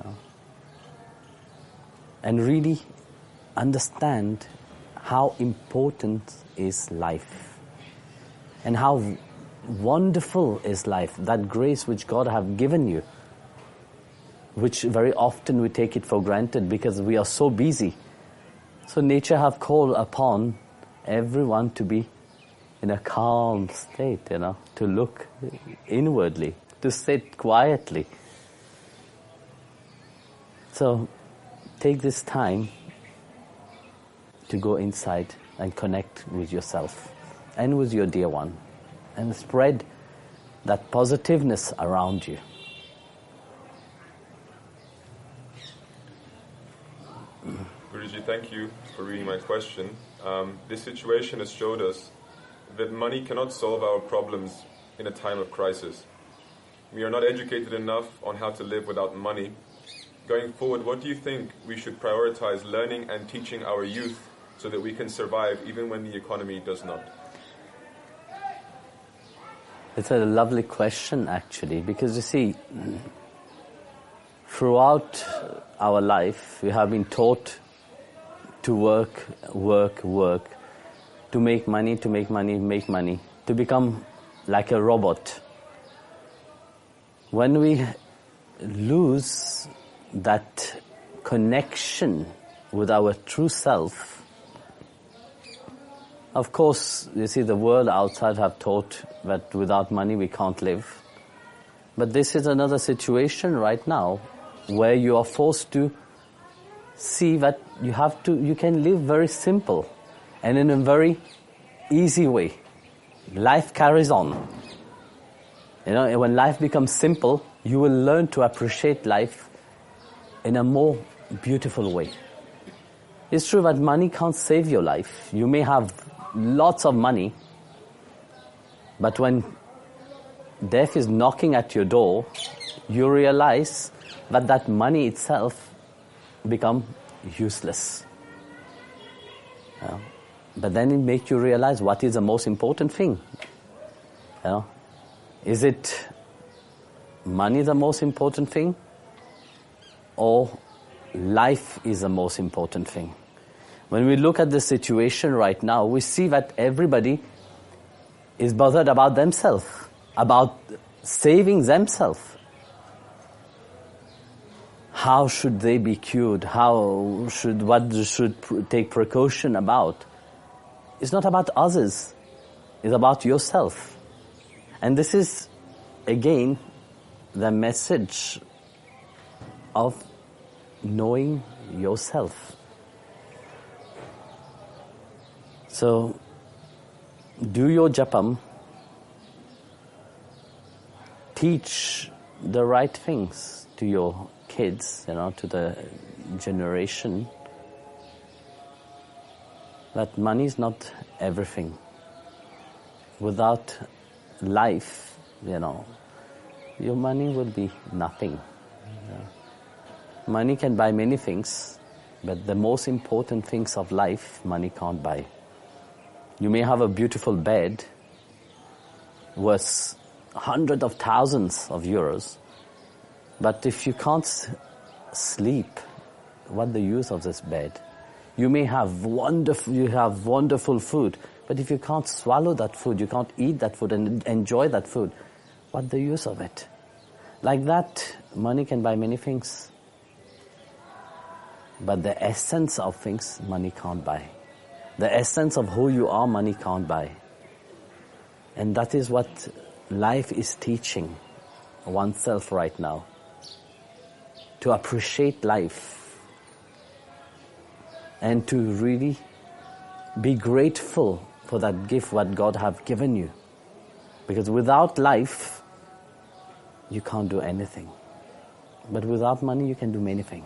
and really understand how important is life and how wonderful is life, that grace which God have given you, which very often we take it for granted because we are so busy. So nature have called upon everyone to be in a calm state, to look inwardly, to sit quietly. So take this time to go inside and connect with yourself and with your dear one and spread that positiveness around you. Guruji, thank you for reading my question. This situation has showed us that money cannot solve our problems in a time of crisis. We are not educated enough on how to live without money. Going forward, what do you think we should prioritize learning and teaching our youth so that we can survive even when the economy does not? It's a lovely question, actually, because you see, throughout our life, we have been taught to work, to make money, to become like a robot. When we lose that connection with our true self, of course, you see, the world outside have taught that without money we can't live. But this is another situation right now where you are forced to see that you can live very simple and in a very easy way. Life carries on. When life becomes simple, you will learn to appreciate life in a more beautiful way. It's true that money can't save your life. You may have lots of money, but when death is knocking at your door, you realize that money itself become useless. But then it makes you realize what is the most important thing. Is it money the most important thing, or life is the most important thing? When we look at the situation right now, we see that everybody is bothered about themselves, about saving themselves. How should they be cured? What should take precaution about? It's not about others. It's about yourself. And this is, again, the message of knowing yourself. So, do your japam. Teach the right things to your kids, to the generation, that money is not everything. Without life, your money will be nothing. Money can buy many things, but the most important things of life, money can't buy. You may have a beautiful bed worth hundreds of thousands of euros, but if you can't sleep, what the use of this bed? You may have wonderful food, but if you can't swallow that food, you can't eat that food and enjoy that food, what the use of it? Like that, money can buy many things, but the essence of things, money can't buy. The essence of who you are, money can't buy. And that is what life is teaching oneself right now. to appreciate life and to really be grateful for that gift what God have given you. Because without life, you can't do anything. But without money, you can do many things.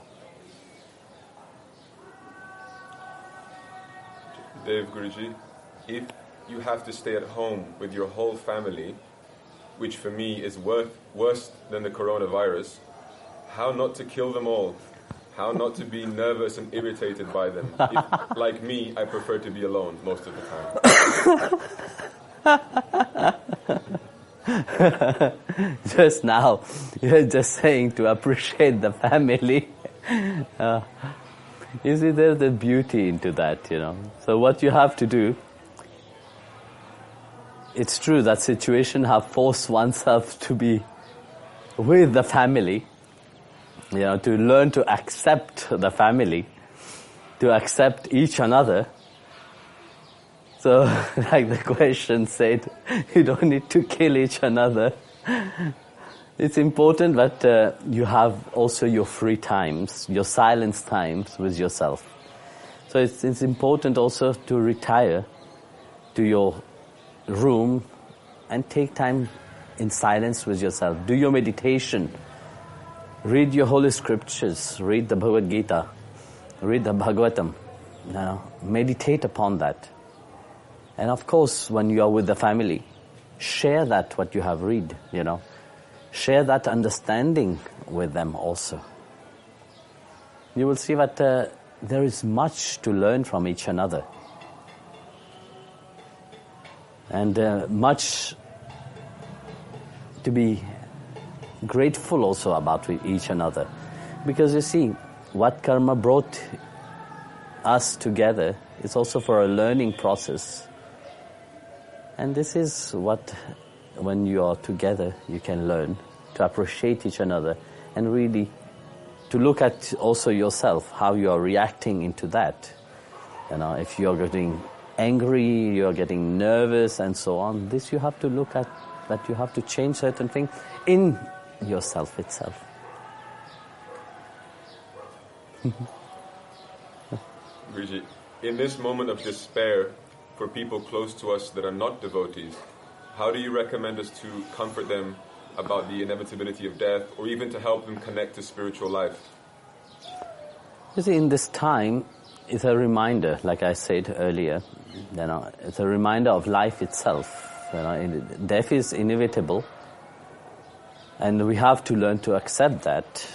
Dave Guruji, if you have to stay at home with your whole family, which for me is worse than the coronavirus, how not to kill them all? How not to be nervous and irritated by them? If, like me, I prefer to be alone most of the time. Just now, you're just saying to appreciate the family. You see, there's the beauty into that, you know. So what you have to do, it's true that situation have forced oneself to be with the family, you know, to learn to accept the family, to accept each another. So, like the question said, you don't need to kill each another. It's important that you have also your free times, your silence times with yourself. So it's important also to retire to your room and take time in silence with yourself. Do your meditation. Read your holy scriptures. Read the Bhagavad Gita. Read the Bhagavatam. You know, meditate upon that. And of course, when you are with the family, share that what you have read, you know. Share that understanding with them also. You will see that there is much to learn from each another. And much to be grateful also about with each another. Because you see, what karma brought us together is also for a learning process. And this is what, when you are together, you can learn to appreciate each other and really to look at also yourself, how you are reacting into that. You know, if you are getting angry, you are getting nervous and so on, this you have to look at, that you have to change certain things in yourself itself. Guruji, in this moment of despair, for people close to us that are not devotees, how do you recommend us to comfort them about the inevitability of death, or even to help them connect to spiritual life? You see, in this time, it's a reminder, like I said earlier, you know, it's a reminder of life itself. You know, death is inevitable, and we have to learn to accept that.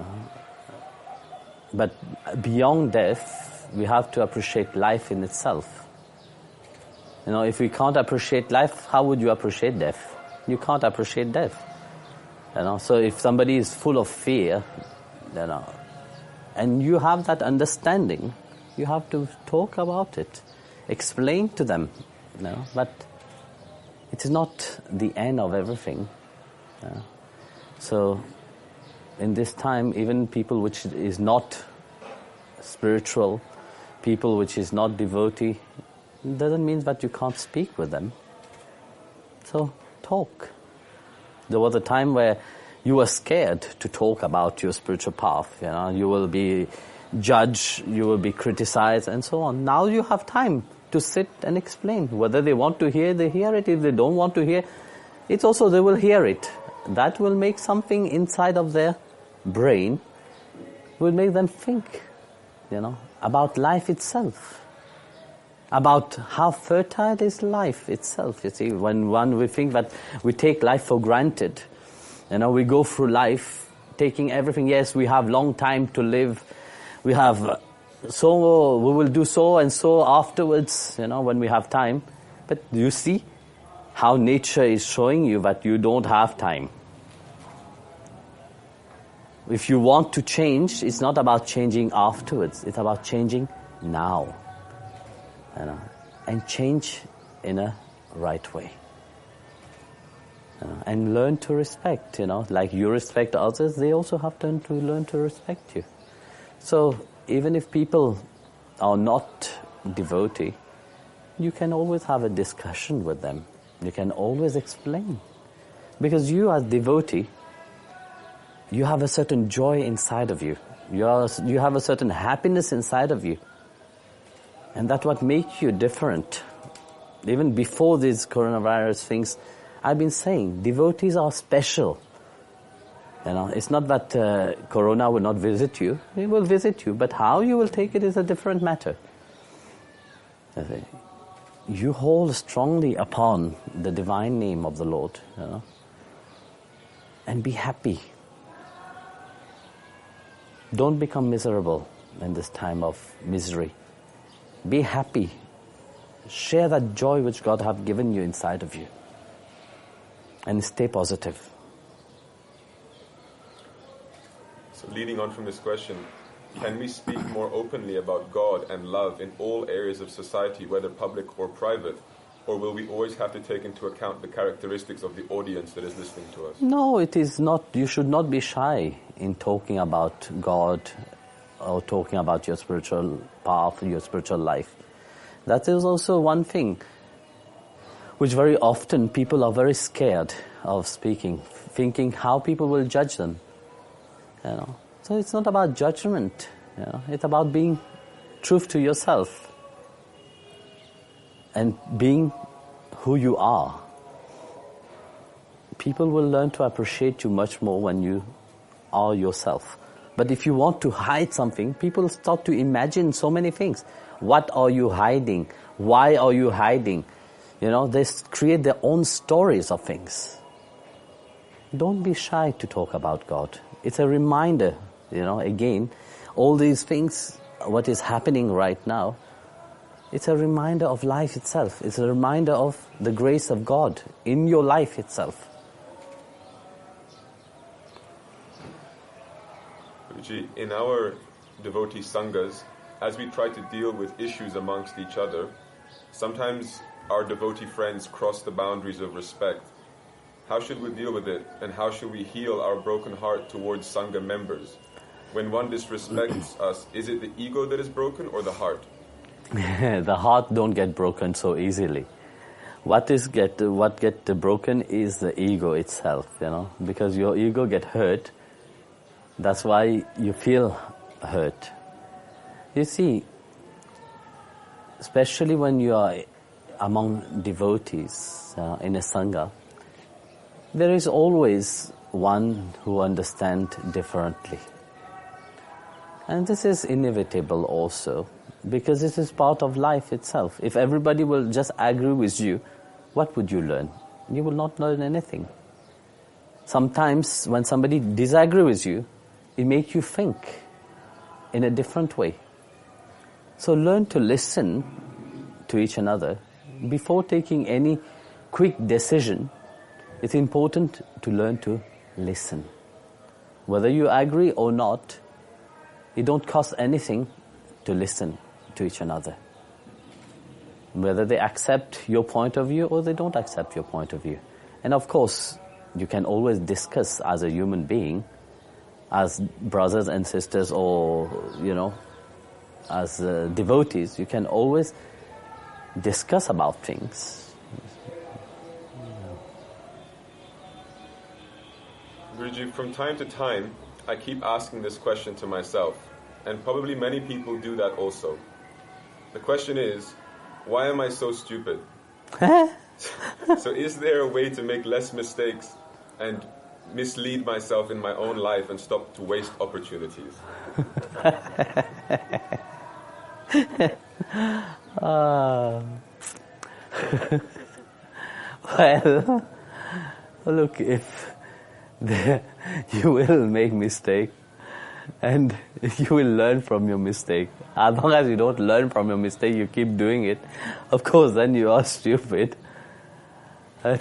But beyond death, we have to appreciate life in itself. You know, if we can't appreciate life, how would you appreciate death? You can't appreciate death. You know, so if somebody is full of fear, you know, and you have that understanding, you have to talk about it, explain to them, you know, but it is not the end of everything. You know. So in this time, even people which is not spiritual, people which is not devotee, doesn't mean that you can't speak with them. So talk. There was a time where you were scared to talk about your spiritual path. You know, you will be judged, you will be criticized, and so on. Now you have time to sit and explain. Whether they want to hear, they hear it. If they don't want to hear, it's also they will hear it. That will make something inside of their brain, will make them think, you know, about life itself. About how fertile is life itself. You see, when we think that we take life for granted, you know, we go through life taking everything. Yes, we have long time to live. We have we will do so and so afterwards, you know, when we have time. But you see how nature is showing you that you don't have time. If you want to change, it's not about changing afterwards. It's about changing now. You know, and change in a right way. And learn to respect, you know, like you respect others, they also have to learn to respect you. So even if people are not devotee, you can always have a discussion with them. You can always explain. Because you as devotee, you have a certain joy inside of you. You have a certain happiness inside of you. And that's what makes you different. Even before these coronavirus things, I've been saying, devotees are special. You know, it's not that Corona will not visit you. It will visit you, but how you will take it is a different matter. You hold strongly upon the divine name of the Lord, you know, and be happy. Don't become miserable in this time of misery. Be happy. Share that joy which God has given you inside of you. And stay positive. So leading on from this question, can we speak more openly about God and love in all areas of society, whether public or private? Or will we always have to take into account the characteristics of the audience that is listening to us? No, it is not. You should not be shy in talking about God or talking about your spiritual path, your spiritual life. That is also one thing which very often people are very scared of speaking, thinking how people will judge them. You know, so it's not about judgment. You know, it's about being true to yourself and being who you are. People will learn to appreciate you much more when you are yourself. But if you want to hide something, people start to imagine so many things. What are you hiding? Why are you hiding? You know, they create their own stories of things. Don't be shy to talk about God. It's a reminder, you know, again, all these things, what is happening right now, it's a reminder of life itself. It's a reminder of the grace of God in your life itself. In our devotee sanghas, as we try to deal with issues amongst each other, sometimes our devotee friends cross the boundaries of respect. How should we deal with it, and how should we heal our broken heart towards sangha members? When one disrespects us, is it the ego that is broken or the heart? The heart don't get broken so easily. What get broken is the ego itself, you know, because your ego get hurt. That's why you feel hurt. You see, especially when you are among devotees in a sangha, there is always one who understands differently. And this is inevitable also, because this is part of life itself. If everybody will just agree with you, what would you learn? You will not learn anything. Sometimes when somebody disagrees with you, it makes you think in a different way. So learn to listen to each another. Before taking any quick decision, it's important to learn to listen. Whether you agree or not, it don't cost anything to listen to each another. Whether they accept your point of view or they don't accept your point of view. And of course, you can always discuss as a human being, as brothers and sisters, or, you know, as devotees, you can always discuss about things. Guruji, from time to time, I keep asking this question to myself, and probably many people do that also. The question is, why am I so stupid? So is there a way to make less mistakes and mislead myself in my own life and stop to waste opportunities? Well, look, if you will make mistake and you will learn from your mistake. As long as you don't learn from your mistake, you keep doing it, of course then you are stupid. But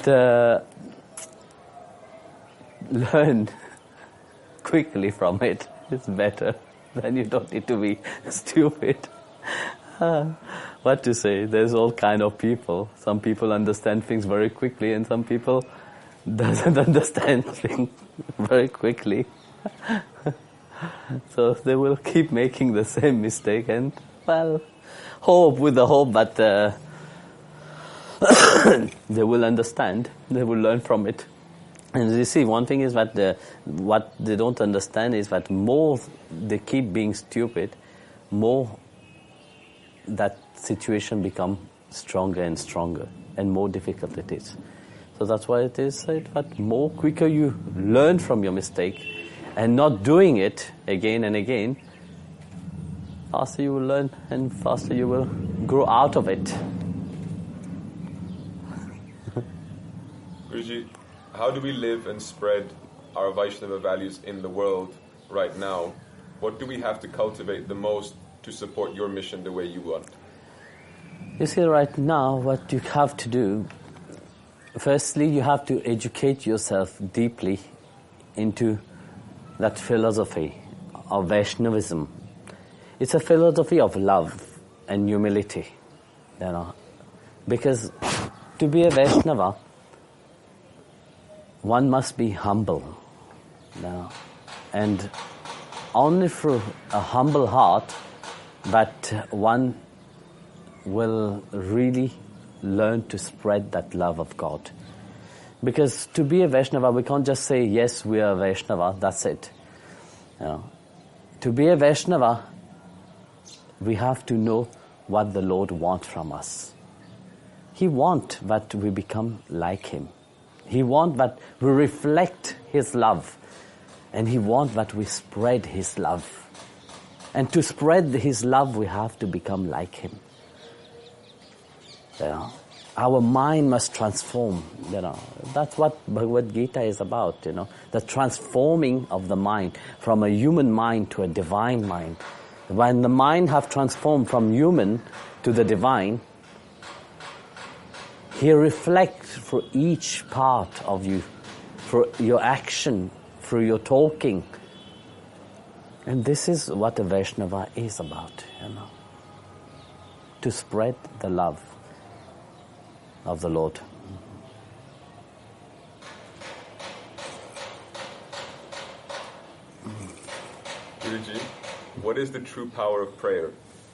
learn quickly from it. It's better. Then you don't need to be stupid. What to say? There's all kind of people. Some people understand things very quickly, and some people doesn't understand things very quickly. So they will keep making the same mistake, and well, hope with the hope that they will understand. They will learn from it. And you see, one thing is that what they don't understand is that more they keep being stupid, more that situation becomes stronger and stronger, and more difficult it is. So that's why it is said that more quicker you learn from your mistake and not doing it again and again, faster you will learn and faster you will grow out of it. Guruji, how do we live and spread our Vaishnava values in the world right now? What do we have to cultivate the most to support your mission the way you want? You see, right now, what you have to do, firstly, you have to educate yourself deeply into that philosophy of Vaishnavism. It's a philosophy of love and humility, because to be a Vaishnava, one must be humble, and only through a humble heart that one will really learn to spread that love of God. Because to be a Vaishnava, we can't just say, yes, we are a Vaishnava, that's it. To be a Vaishnava, we have to know what the Lord wants from us. He wants that we become like Him. He wants that we reflect His love. And He wants that we spread His love. And to spread His love, we have to become like Him. Our mind must transform. That's what Bhagavad Gita is about. The transforming of the mind from a human mind to a divine mind. When the mind have transformed from human to the divine, He reflects for each part of you, for your action, for your talking. And this is what a Vaishnava is about, to spread the love of the Lord. Guruji, what is the true power of prayer?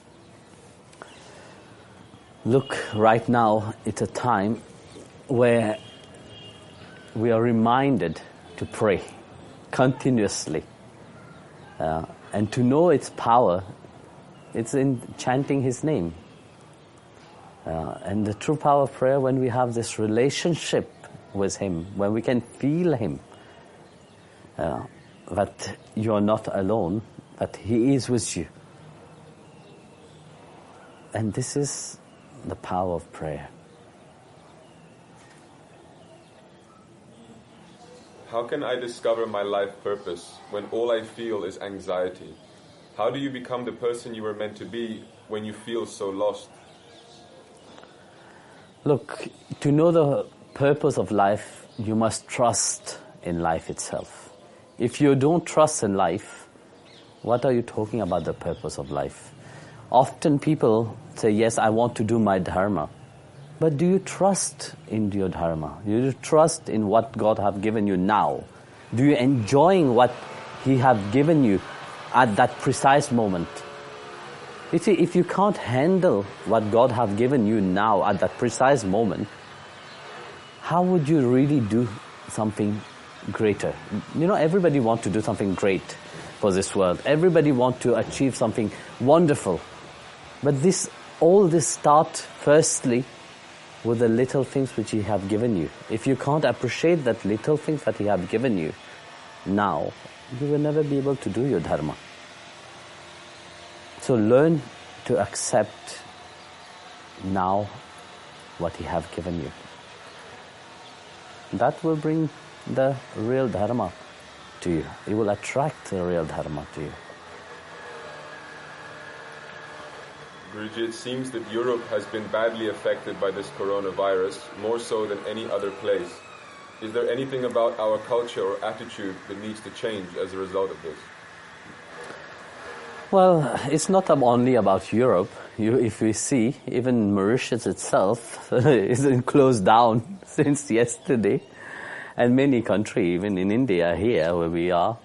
Look, right now it's a time where we are reminded to pray continuously. And to know its power, it's in chanting His name. And the true power of prayer, when we have this relationship with Him, when we can feel Him, that you are not alone, that He is with you. And this is the power of prayer. How can I discover my life purpose when all I feel is anxiety? How do you become the person you were meant to be when you feel so lost? Look, to know the purpose of life, you must trust in life itself. If you don't trust in life, what are you talking about the purpose of life? Often people say, yes, I want to do my dharma. But do you trust in your dharma? Do you trust in what God have given you now? Do you enjoying what He have given you at that precise moment? You see, if you can't handle what God have given you now at that precise moment, how would you really do something greater? Everybody wants to do something great for this world. Everybody wants to achieve something wonderful. But all this starts firstly with the little things which He have given you. If you can't appreciate that little things that He have given you now, you will never be able to do your dharma. So learn to accept now what He have given you. That will bring the real dharma to you. It will attract the real dharma to you. Guruji, it seems that Europe has been badly affected by this coronavirus, more so than any other place. Is there anything about our culture or attitude that needs to change as a result of this? Well, it's not only about Europe. If we see, even Mauritius itself is closed down since yesterday. And many countries, even in India here where we are.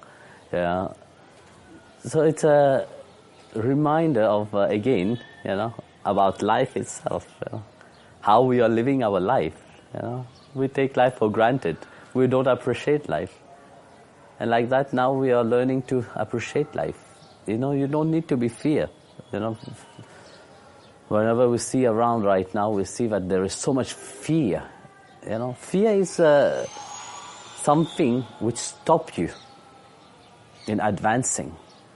So it's a reminder of, again, about life itself. How we are living our life. We take life for granted. We don't appreciate life. And like that, now we are learning to appreciate life. You know, you don't need to be fear. You know, whenever we see around right now, we see that there is so much fear. You know, fear is something which stops you in advancing.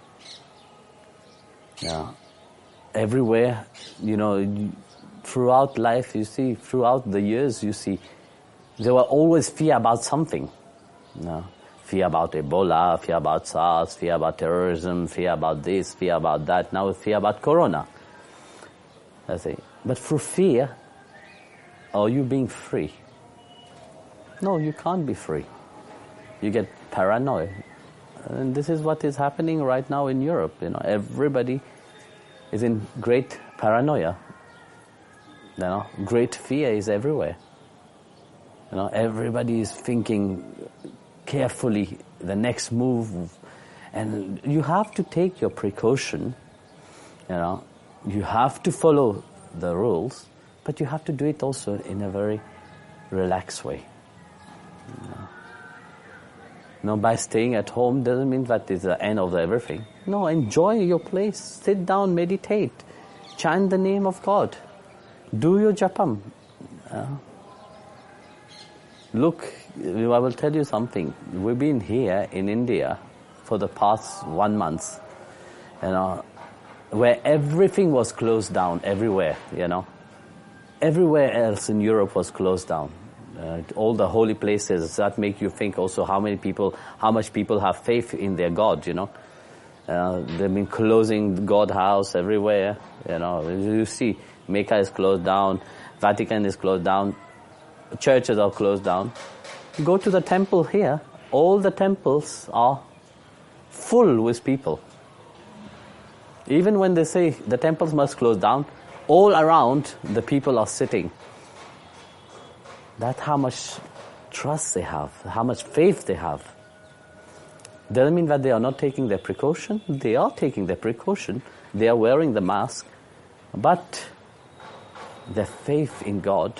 Yeah. Everywhere, you know, throughout life, you see, throughout the years, you see, there were always fear about something. You know, fear about Ebola, fear about SARS, fear about terrorism, fear about this, fear about that. Now fear about Corona. I say, but through fear, are you being free? No, you can't be free. You get paranoid. And this is what is happening right now in Europe. You know, everybody is in great paranoia. You know, great fear is everywhere. You know, everybody is thinking carefully the next move, and you have to take your precaution. You know, you have to follow the rules, but you have to do it also in a very relaxed way. No, by staying at home doesn't mean that is the end of everything. No, enjoy your place. Sit down, meditate. Chant the name of God. Do your japam. Look, I will tell you something. We've been here in India for the past 1 month, you know, where everything was closed down everywhere, you know. Everywhere else in Europe was closed down. All the holy places, that make you think also how much people have faith in their God, you know. They've been closing God house everywhere, you know. You see, Mecca is closed down, Vatican is closed down, churches are closed down. Go to the temple here, all the temples are full with people. Even when they say the temples must close down, all around the people are sitting. That's how much trust they have, how much faith they have. Doesn't mean that they are not taking their precaution. They are taking their precaution. They are wearing the mask. But their faith in God,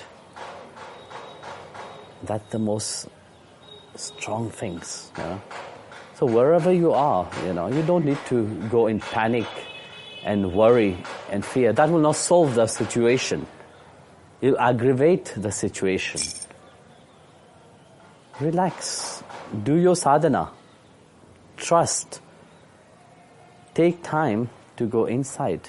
that's the most strong things. You know? So wherever you are, you know, you don't need to go in panic and worry and fear. That will not solve the situation. You'll aggravate the situation. Relax. Do your sadhana. Trust. Take time to go inside.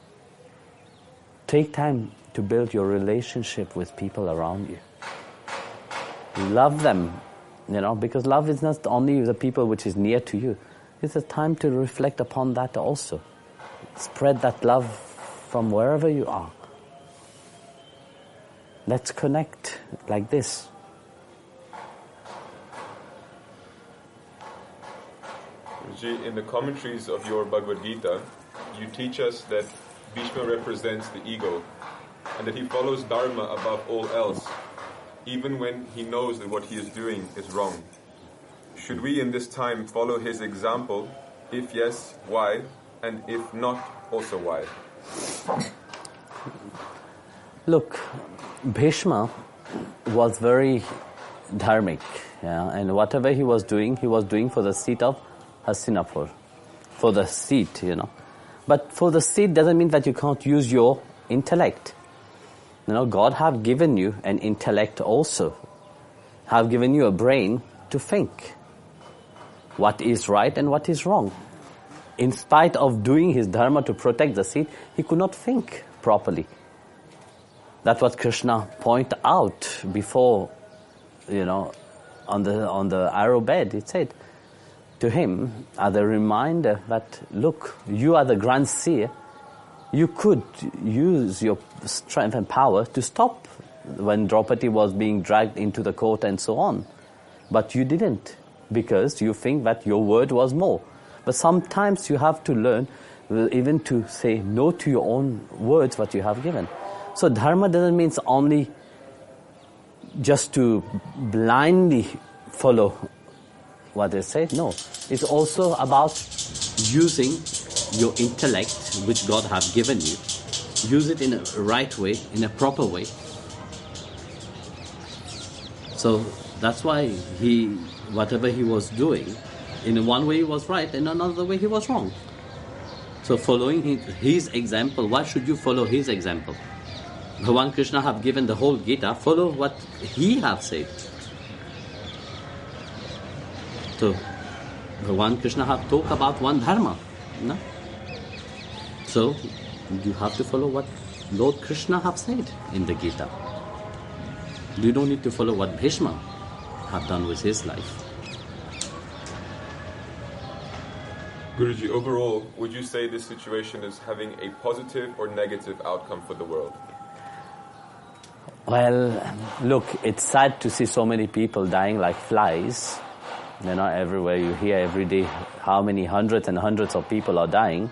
Take time to build your relationship with people around you. Love them, you know, because love is not only the people which is near to you. It's a time to reflect upon that also. Spread that love from wherever you are. Let's connect like this. In the commentaries of your Bhagavad Gita, you teach us that Bhishma represents the ego and that he follows Dharma above all else, even when he knows that what he is doing is wrong. Should we in this time follow his example? If yes, why? And if not, also why? Look, Bhishma was very dharmic, yeah, and whatever he was doing for the seat of Hastinapur, for the seat, you know. But for the seat doesn't mean that you can't use your intellect. You know, God have given you an intellect also, have given you a brain to think what is right and what is wrong. In spite of doing his dharma to protect the seat, he could not think properly. That's what Krishna pointed out before, you know, on the arrow bed. He said to him as a reminder that, look, you are the grand seer. You could use your strength and power to stop when Draupadi was being dragged into the court and so on. But you didn't, because you think that your word was more. But sometimes you have to learn even to say no to your own words what you have given. So dharma doesn't mean only just to blindly follow what they say. No, it's also about using your intellect, which God have given you. Use it in a right way, in a proper way. So That's why whatever he was doing, in one way he was right, in another way he was wrong. So following his example, why should you follow his example? Bhagavan Krishna have given the whole Gita, follow what he have said. So Bhagavan Krishna have talked about one dharma. No? So you have to follow what Lord Krishna have said in the Gita. You don't need to follow what Bhishma have done with his life. Guruji, overall, would you say this situation is having a positive or negative outcome for the world? Well, look, it's sad to see so many people dying like flies. You know, everywhere you hear every day how many hundreds and hundreds of people are dying.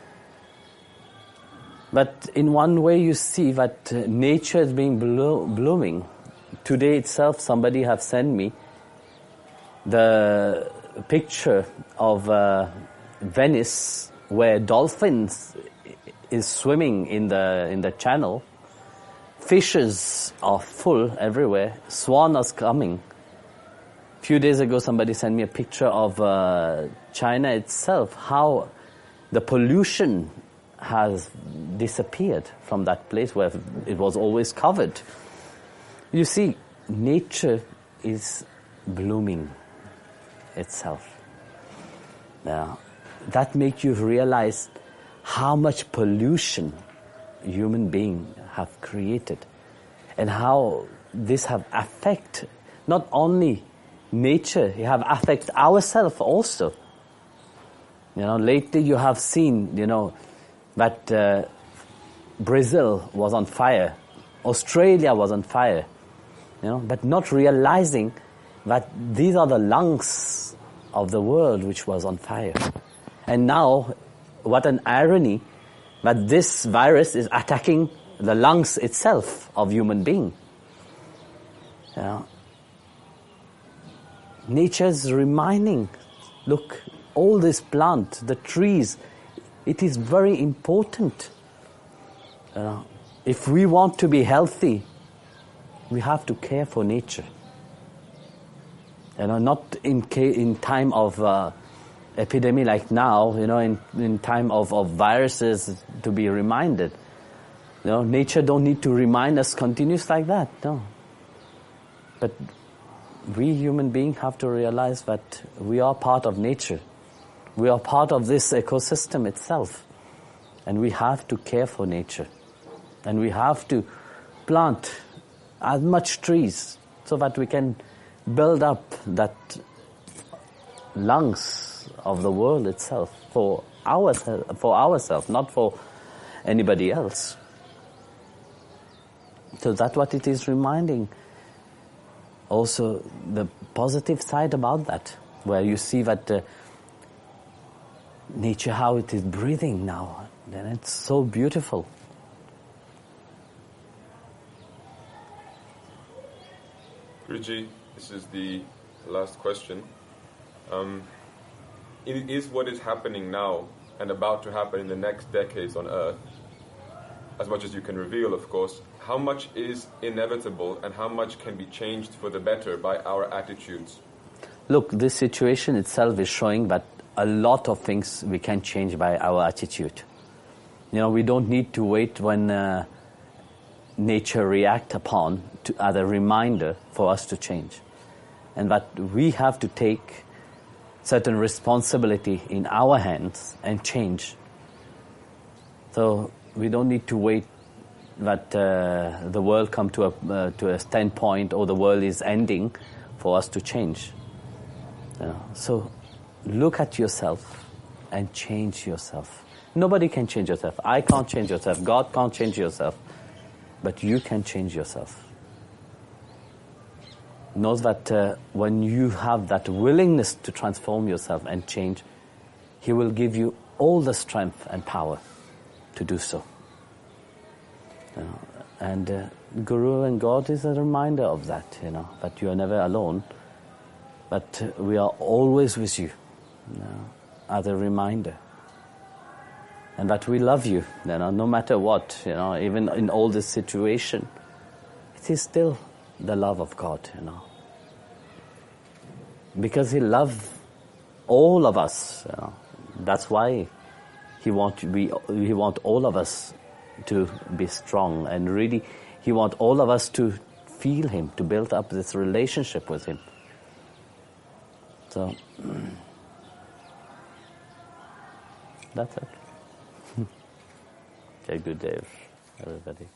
But in one way you see that nature is being blooming. Today itself somebody have sent me the picture of Venice where dolphins is swimming in the channel. Fishes are full everywhere. Swan is coming. A few days ago somebody sent me a picture of China itself, how the pollution has disappeared from that place where it was always covered. You see, nature is blooming itself. Now, that makes you realize how much pollution human beings have created and how this have affected not only nature, it have affected ourselves also. You know, lately you have seen, you know, that Brazil was on fire, Australia was on fire, you know, but not realizing that these are the lungs of the world which was on fire. And now, what an irony that this virus is attacking the lungs itself of human being. You know, nature's reminding, look, all this plant, the trees, it is very important. You know, if we want to be healthy, we have to care for nature. You know, not in time of epidemic like now, you know, in time of viruses to be reminded. You know, nature don't need to remind us continuous like that, no. But we human beings have to realize that we are part of nature. We are part of this ecosystem itself. And we have to care for nature. And we have to plant as much trees so that we can build up that lungs of the world itself for ourselves, not for anybody else. So that's what it is reminding. Also, the positive side about that, where you see that nature, how it is breathing now, then it's so beautiful. Guruji, this is the last question. Is what is happening now and about to happen in the next decades on Earth, as much as you can reveal, of course, how much is inevitable and how much can be changed for the better by our attitudes? Look, this situation itself is showing that a lot of things we can change by our attitude. You know, we don't need to wait when nature react upon as a reminder for us to change. And that we have to take certain responsibility in our hands and change. So we don't need to wait that the world come to a standpoint or the world is ending for us to change. So look at yourself and change yourself. Nobody can change yourself. I can't change yourself. God can't change yourself. But you can change yourself. Know that when you have that willingness to transform yourself and change, He will give you all the strength and power to do so. And Guru and God is a reminder of that, that you are never alone, but we are always with you, as a reminder. And that we love you, no matter what, even in all this situation, it is still the love of God, because he loved all of us. That's why he want all of us to be strong, and really he want all of us to feel him, to build up this relationship with him. So that's it. Okay, good day, everybody.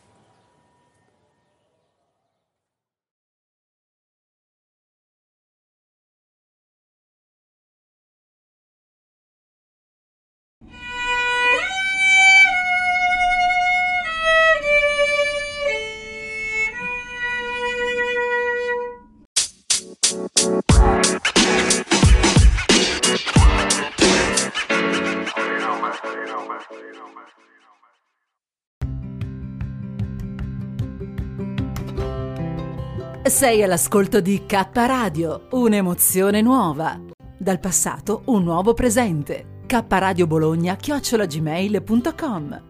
Sei all'ascolto di K Radio, un'emozione nuova. Dal passato un nuovo presente. kradiobologna@gmail.com